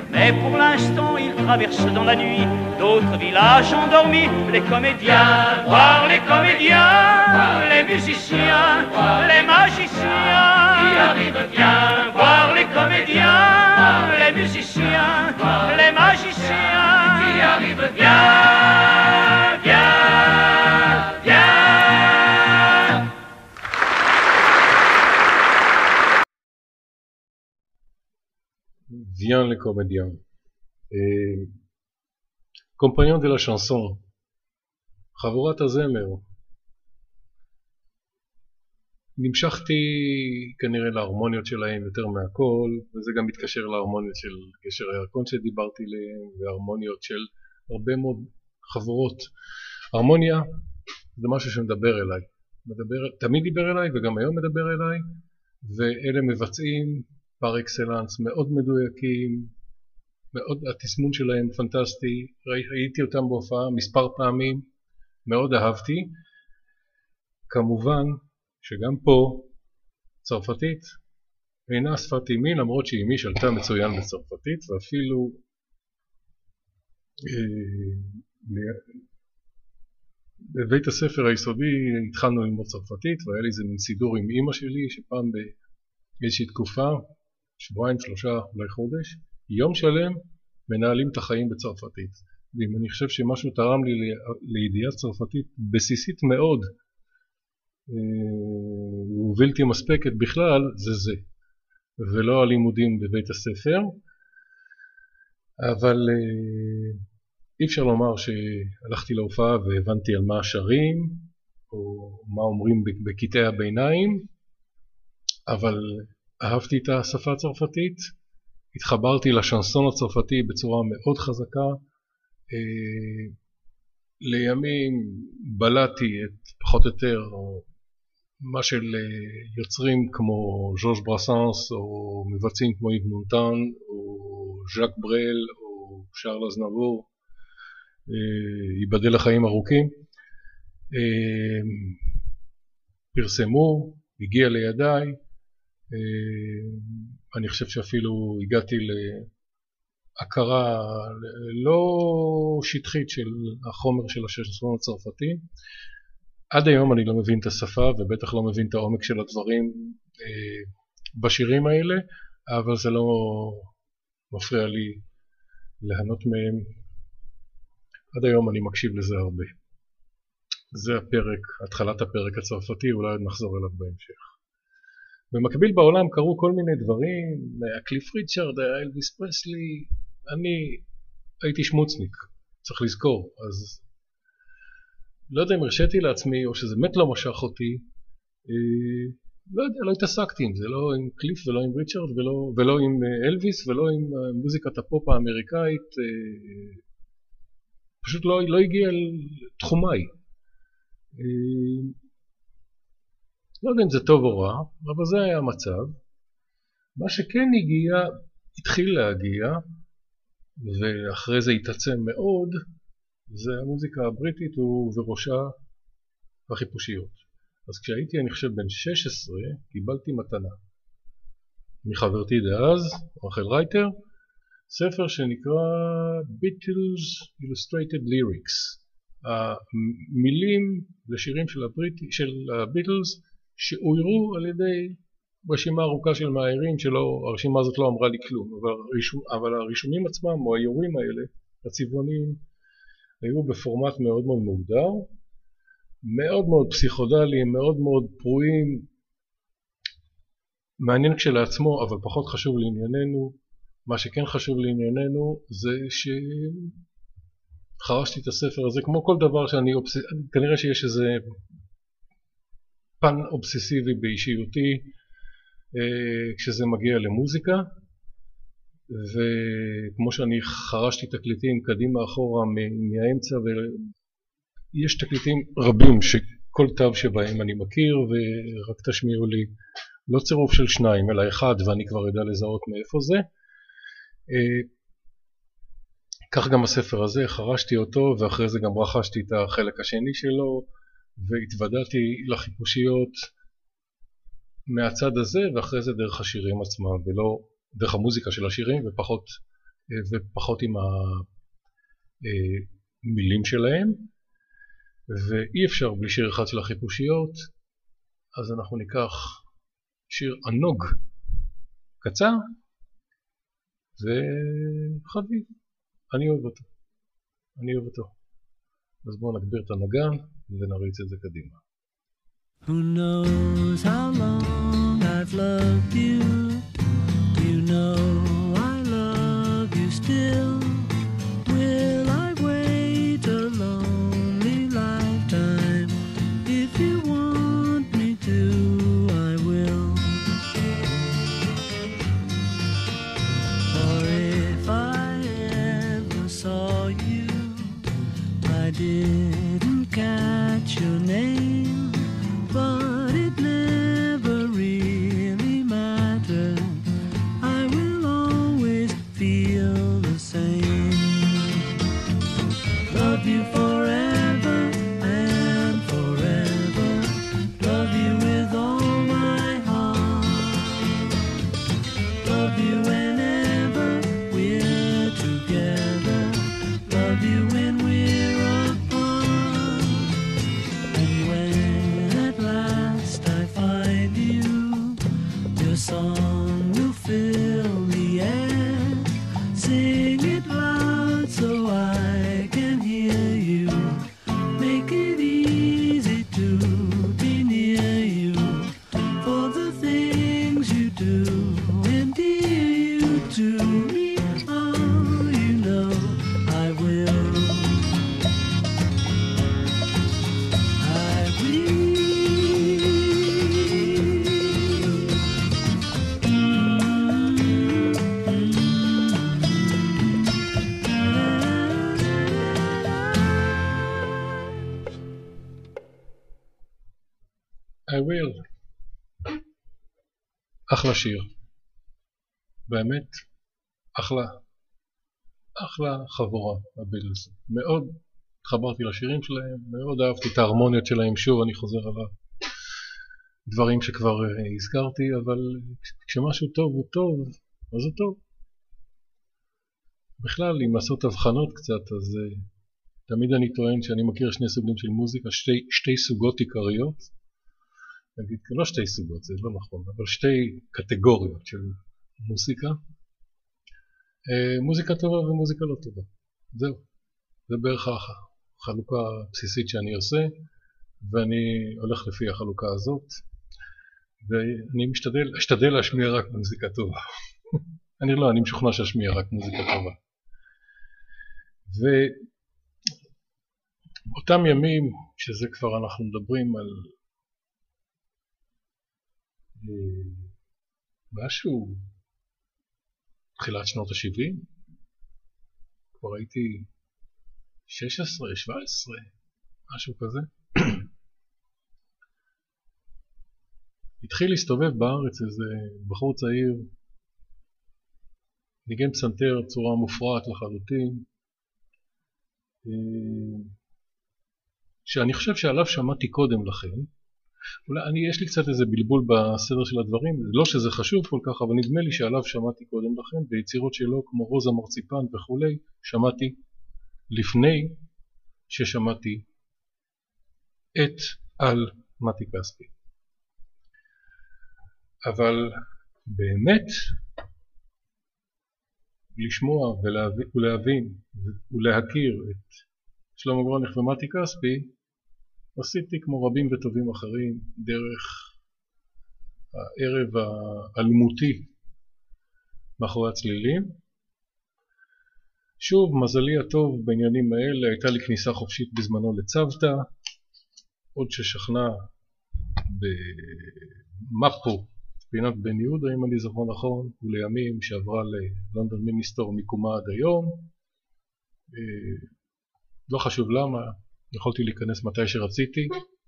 Mais pour l'instant, ils traversent dans la nuit d'autres villages endormis. Les comédiens, voir les comédiens, les musiciens, les magiciens qui arrivent bien. Voir les comédiens, les musiciens, les magiciens qui arrivent bien, bien, bien. Viens les comédiens. Et compagnon de la chanson, חבורת הזמר. נמשכתי כנראה להרמוניות שלהם יותר מהכל, וזה גם מתקשר להרמוניות של גשר הירקון שדיברתי עליהם, והרמוניות של הרבה מאוד חבורות. הרמוניה זה משהו שמדבר אליי, מדבר, תמיד דיבר אליי וגם היום מדבר אליי, ואלה מבצעים פר אקסלנס מאוד מדויקים, מאוד, התסמון שלהם פנטסטי, ראיתי אותם בהופעה מספר פעמים, מאוד אהבתי. כמובן שגם פה צרפתית אינה שפת אמי, למרות שאמי שלטה מצוין בצרפתית, ואפילו אה, בבית הספר היסודי התחלנו ללמוד צרפתית, והיה לי איזה מין סידור עם אמא שלי, שפעם באיזושהי תקופה, שבועיים, שלושה, אולי חודש, יום שלם מנהלים את החיים בצרפתית. ואם אני חושב שמשהו תרם לי לידיעה צרפתית בסיסית מאוד, ובלתי מספקת בכלל, זה זה, ולא הלימודים בבית הספר. אבל אי אפשר לומר שהלכתי להופעה והבנתי על מה השרים, או מה אומרים בקטעי הביניים, אבל אהבתי את השפה הצרפתית, התחברתי לשנסון הצרפתי בצורה מאוד חזקה, לימים בלעתי את פחות או יותר מה של יוצרים כמו ז'ורז' ברסנס, או מבצעים כמו איב מונטן, או ז'אק ברל, או שארל אזנבור, ייבדל לחיים ארוכים, פרסמו, הגיע לידיי, אני חושב שאפילו הגעתי להכרה לא שטחית של החומר של השנסון הצרפתי. עד היום אני לא מבין את השפה ובטח לא מבין את העומק של הדברים בשירים האלה, אבל זה לא מפריע לי ליהנות מהם. עד היום אני מקשיב לזה הרבה. זה הפרק, התחלת הפרק הצרפתי, אולי נחזור אליו בהמשך. במקביל בעולם קרו כל מיני דברים, הקליף ריצ'רד, אלוויס פרסלי, אני הייתי שמוצניק, צריך לזכור, אז לא יודע אם הרשיתי לעצמי או שזה באמת לא משך אותי, לא יודע, לא התעסקתי עם זה, לא עם קליף ולא עם ריצ'רד ולא, ולא עם אלוויס ולא עם מוזיקת הפופ האמריקאית, פשוט לא, לא הגיע לתחומיי. לא יודע אם זה טוב או רע, אבל זה היה המצב. מה שכן הגיע, התחיל להגיע, ואחרי זה התעצם מאוד, זה המוזיקה הבריטית ובראשה החיפושיות. אז כשהייתי, אני חושב, בן שש עשרה, קיבלתי מתנה מחברתי דאז, רחל רייטר, ספר שנקרא Beatles Illustrated Lyrics. המילים לשירים של, הבריטי, של הביטלס שאוירו על ידי רשימה ארוכה של מאיירים, שלא, הרשימה הזאת לא אמרה לי כלום, אבל, הרישום, אבל הרישומים עצמם או האיורים האלה, הצבעוניים, היו בפורמט מאוד מאוד מוגדר, מאוד מאוד פסיכודליים, מאוד מאוד פרועים, מעניין כשלעצמו, אבל פחות חשוב לענייננו. מה שכן חשוב לענייננו זה שחרשתי את הספר הזה, כמו כל דבר שאני, אובס... כנראה שיש איזה פן אובססיבי באישיותי כשזה מגיע למוזיקה, וכמו שאני חרשתי תקליטים קדימה אחורה מהאמצע, ויש תקליטים רבים שכל תו שבהם אני מכיר, ורק תשמיעו לי לא צירוף של שניים אלא אחד, ואני כבר יודע לזהות מאיפה זה. כך גם הספר הזה, חרשתי אותו ואחרי זה גם רכשתי את החלק השני שלו, והתוודעתי לחיפושיות מהצד הזה, ואחרי זה דרך השירים עצמם, ולא דרך המוזיקה של השירים, ופחות ופחות עם המילים שלהם, ואי אפשר בלי שיר אחד של החיפושיות, אז אנחנו ניקח שיר ענוג קצר וחביב. אני אוהב אותו, אני אוהב אותו. אז בואו נגביר את הנגן ונריץ את זה קדימה. Who knows how long I've loved you? You know I love you still. Will I wait a lonely lifetime? If you want me to, I will. Or if I ever saw you, I didn't catch your name, but it never really mattered. I will always feel the same. Love you forever and forever. Love you with all my heart. Love you whenever we're together. Love you when we're apart. And when at last I find you, your song will fill the air. Sing it loud so I can hear you. Make it easy to be near you. For the things you do endear you to me. Oh, you know I will. I will. I will. אחלה שיר. באמת, אחלה. אחלה חבורה, הבילס. מאוד התחברתי לשירים שלהם, מאוד אהבתי את ההרמוניות שלהם. שוב, אני חוזר על הדברים שכבר הזכרתי, אבל כשמשהו טוב הוא טוב, אז הוא טוב. בכלל, אם לעשות הבחנות קצת, אז תמיד אני טוען שאני מכיר שני סוגים של מוזיקה, שתי, שתי סוגות עיקריות. נגיד, לא שתי סוגות, זה לא נכון, אבל שתי קטגוריות של מוזיקה. מוזיקה טובה ומוזיקה לא טובה. זהו. זה בערך החלוקה הבסיסית שאני עושה, ואני הולך לפי החלוקה הזאת, ואני משתדל, אשתדל להשמיע רק מוזיקה טובה. אני לא, אני משוכנע שאשמיע רק מוזיקה טובה. ובאותם ימים, שזה כבר אנחנו מדברים על משהו, תחילת שנות ה-שבעים, כבר הייתי שש עשרה, שבע עשרה, משהו כזה. התחיל להסתובב בארץ איזה בחור צעיר, ניגן פסנתר צורה מופרעת לחלוטין, שאני חושב שעליו שמעתי קודם לכן. אולי אני, יש לי קצת איזה בלבול בסדר של הדברים, לא שזה חשוב כל כך, אבל נדמה לי שעליו שמעתי קודם לכן, ביצירות שלו כמו רוזה מרציפן וכולי, שמעתי לפני ששמעתי את על מתי כספי. אבל באמת לשמוע ולהבין, ולהבין ולהכיר את שלמה גרונך ומתי כספי, עשיתי כמו רבים וטובים אחרים דרך הערב האלמותי מאחורי הצלילים. שוב, מזלי הטוב בעניינים האלה, הייתה לי כניסה חופשית בזמנו לצוותא, עוד ששכנה במפו, פינת בן יהודה אם אני זוכר נכון, ולימים שעברה ללונדון מיניסטור מקומה עד היום. לא חשוב למה, יכולתי להיכנס מתי שרציתי,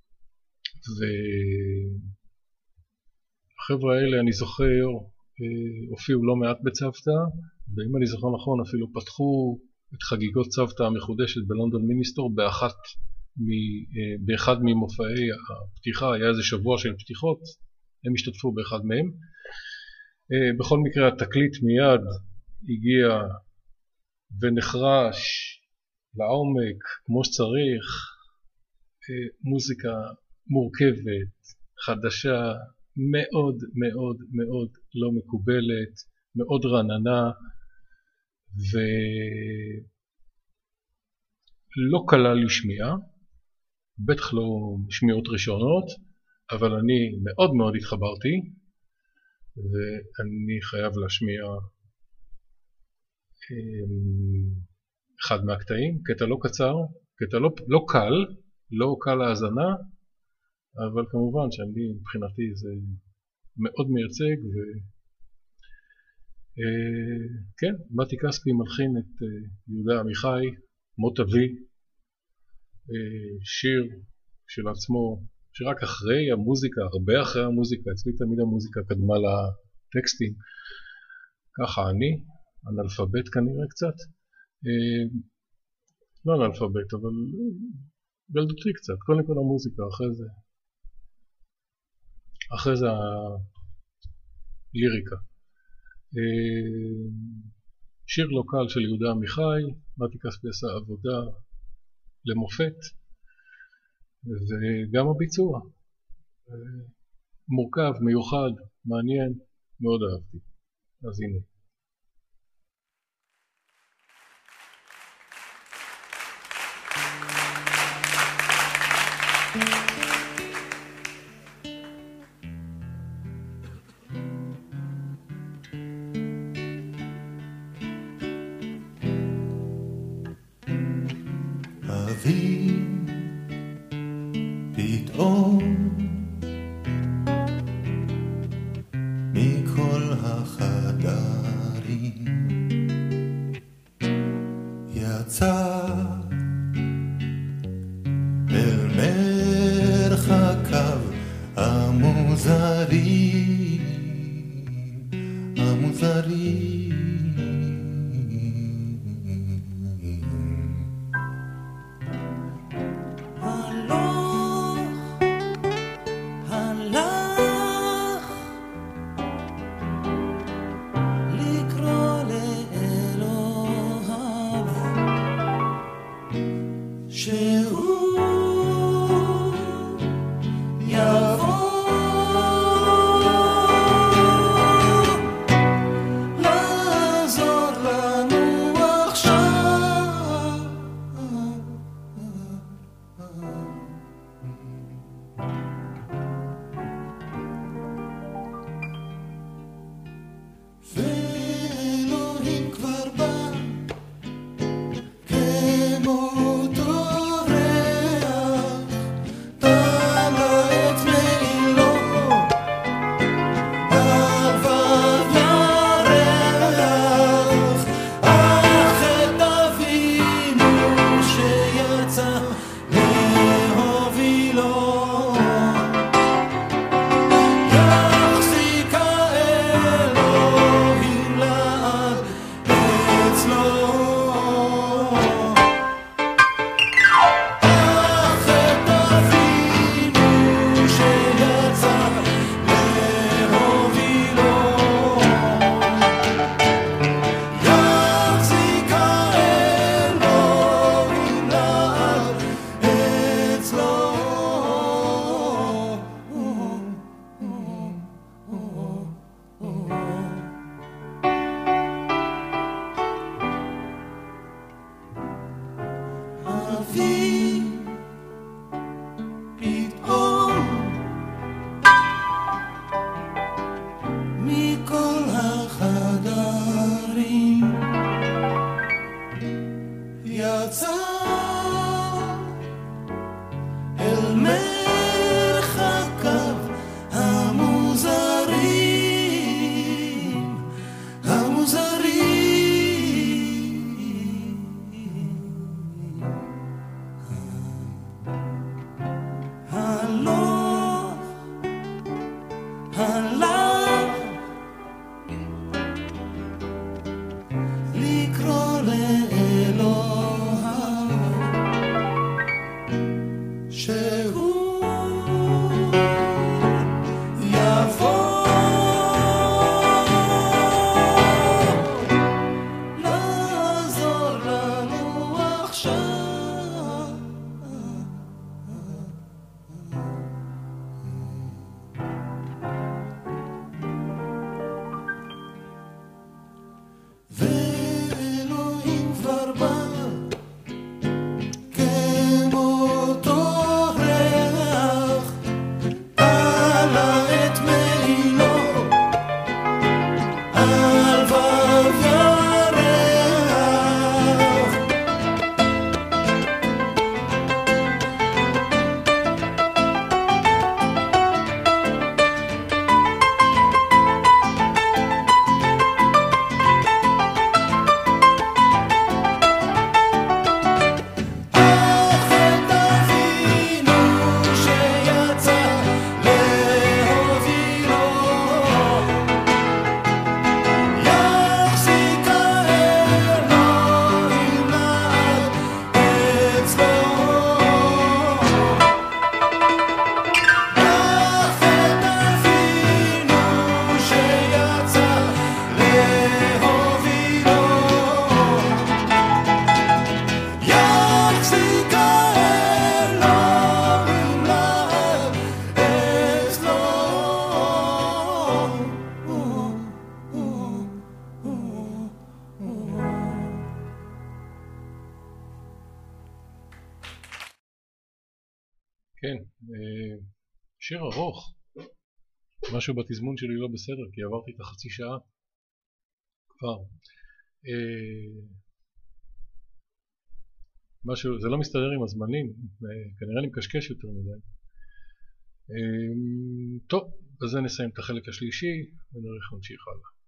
והחבר'ה האלה אני זוכר הופיעו לא מעט בצוותא, ואם אני זוכר נכון אפילו פתחו את חגיגות צוותא המחודשת בלונדון מיניסטור באחת מ, באחד ממופעי הפתיחה, היה איזה שבוע של פתיחות, הם השתתפו באחד מהם. בכל מקרה התקליט מיד הגיע ונחרש לעומק כמו שצריך, מוזיקה מורכבת, חדשה, מאוד מאוד מאוד לא מקובלת, מאוד רעננה, ולא קלה לשמיעה, בטח לא שמיעות ראשונות, אבל אני מאוד מאוד התחברתי, ואני חייב להשמיע אחד מהקטעים, קטע לא קצר, קטע לא, לא קל, לא קל להאזנה, אבל כמובן שאני מבחינתי זה מאוד מייצג, וכן, מתי כספי מלחין את יהודה עמיחי, מות אבי, שיר של עצמו, שרק אחרי המוזיקה, הרבה אחרי המוזיקה, אצלי תמיד המוזיקה קדמה לטקסטים, ככה אני, אנאלפבית כנראה קצת, לא אנאלפבית, אבל בילדותי קצת, קודם כל המוזיקה, אחרי זה, אחרי זה הליריקה. שיר לא קל של יהודה עמיחי, מתי כספי עשה עבודה למופת, וגם הביצוע מורכב, מיוחד, מעניין, מאוד אהבתי. אז הנה. אבי פתאום מכל החדרים יצא אל מרחקיו המוזרים המוזרים כן, שיר ארוך. משהו בתזמון שלי לא בסדר, כי עברתי את החצי שעה כבר. משהו, זה לא מסתדר עם הזמנים, כנראה אני מקשקש יותר מדי. טוב, בזה נסיים את החלק השלישי ונראה איך נמשיך הלאה.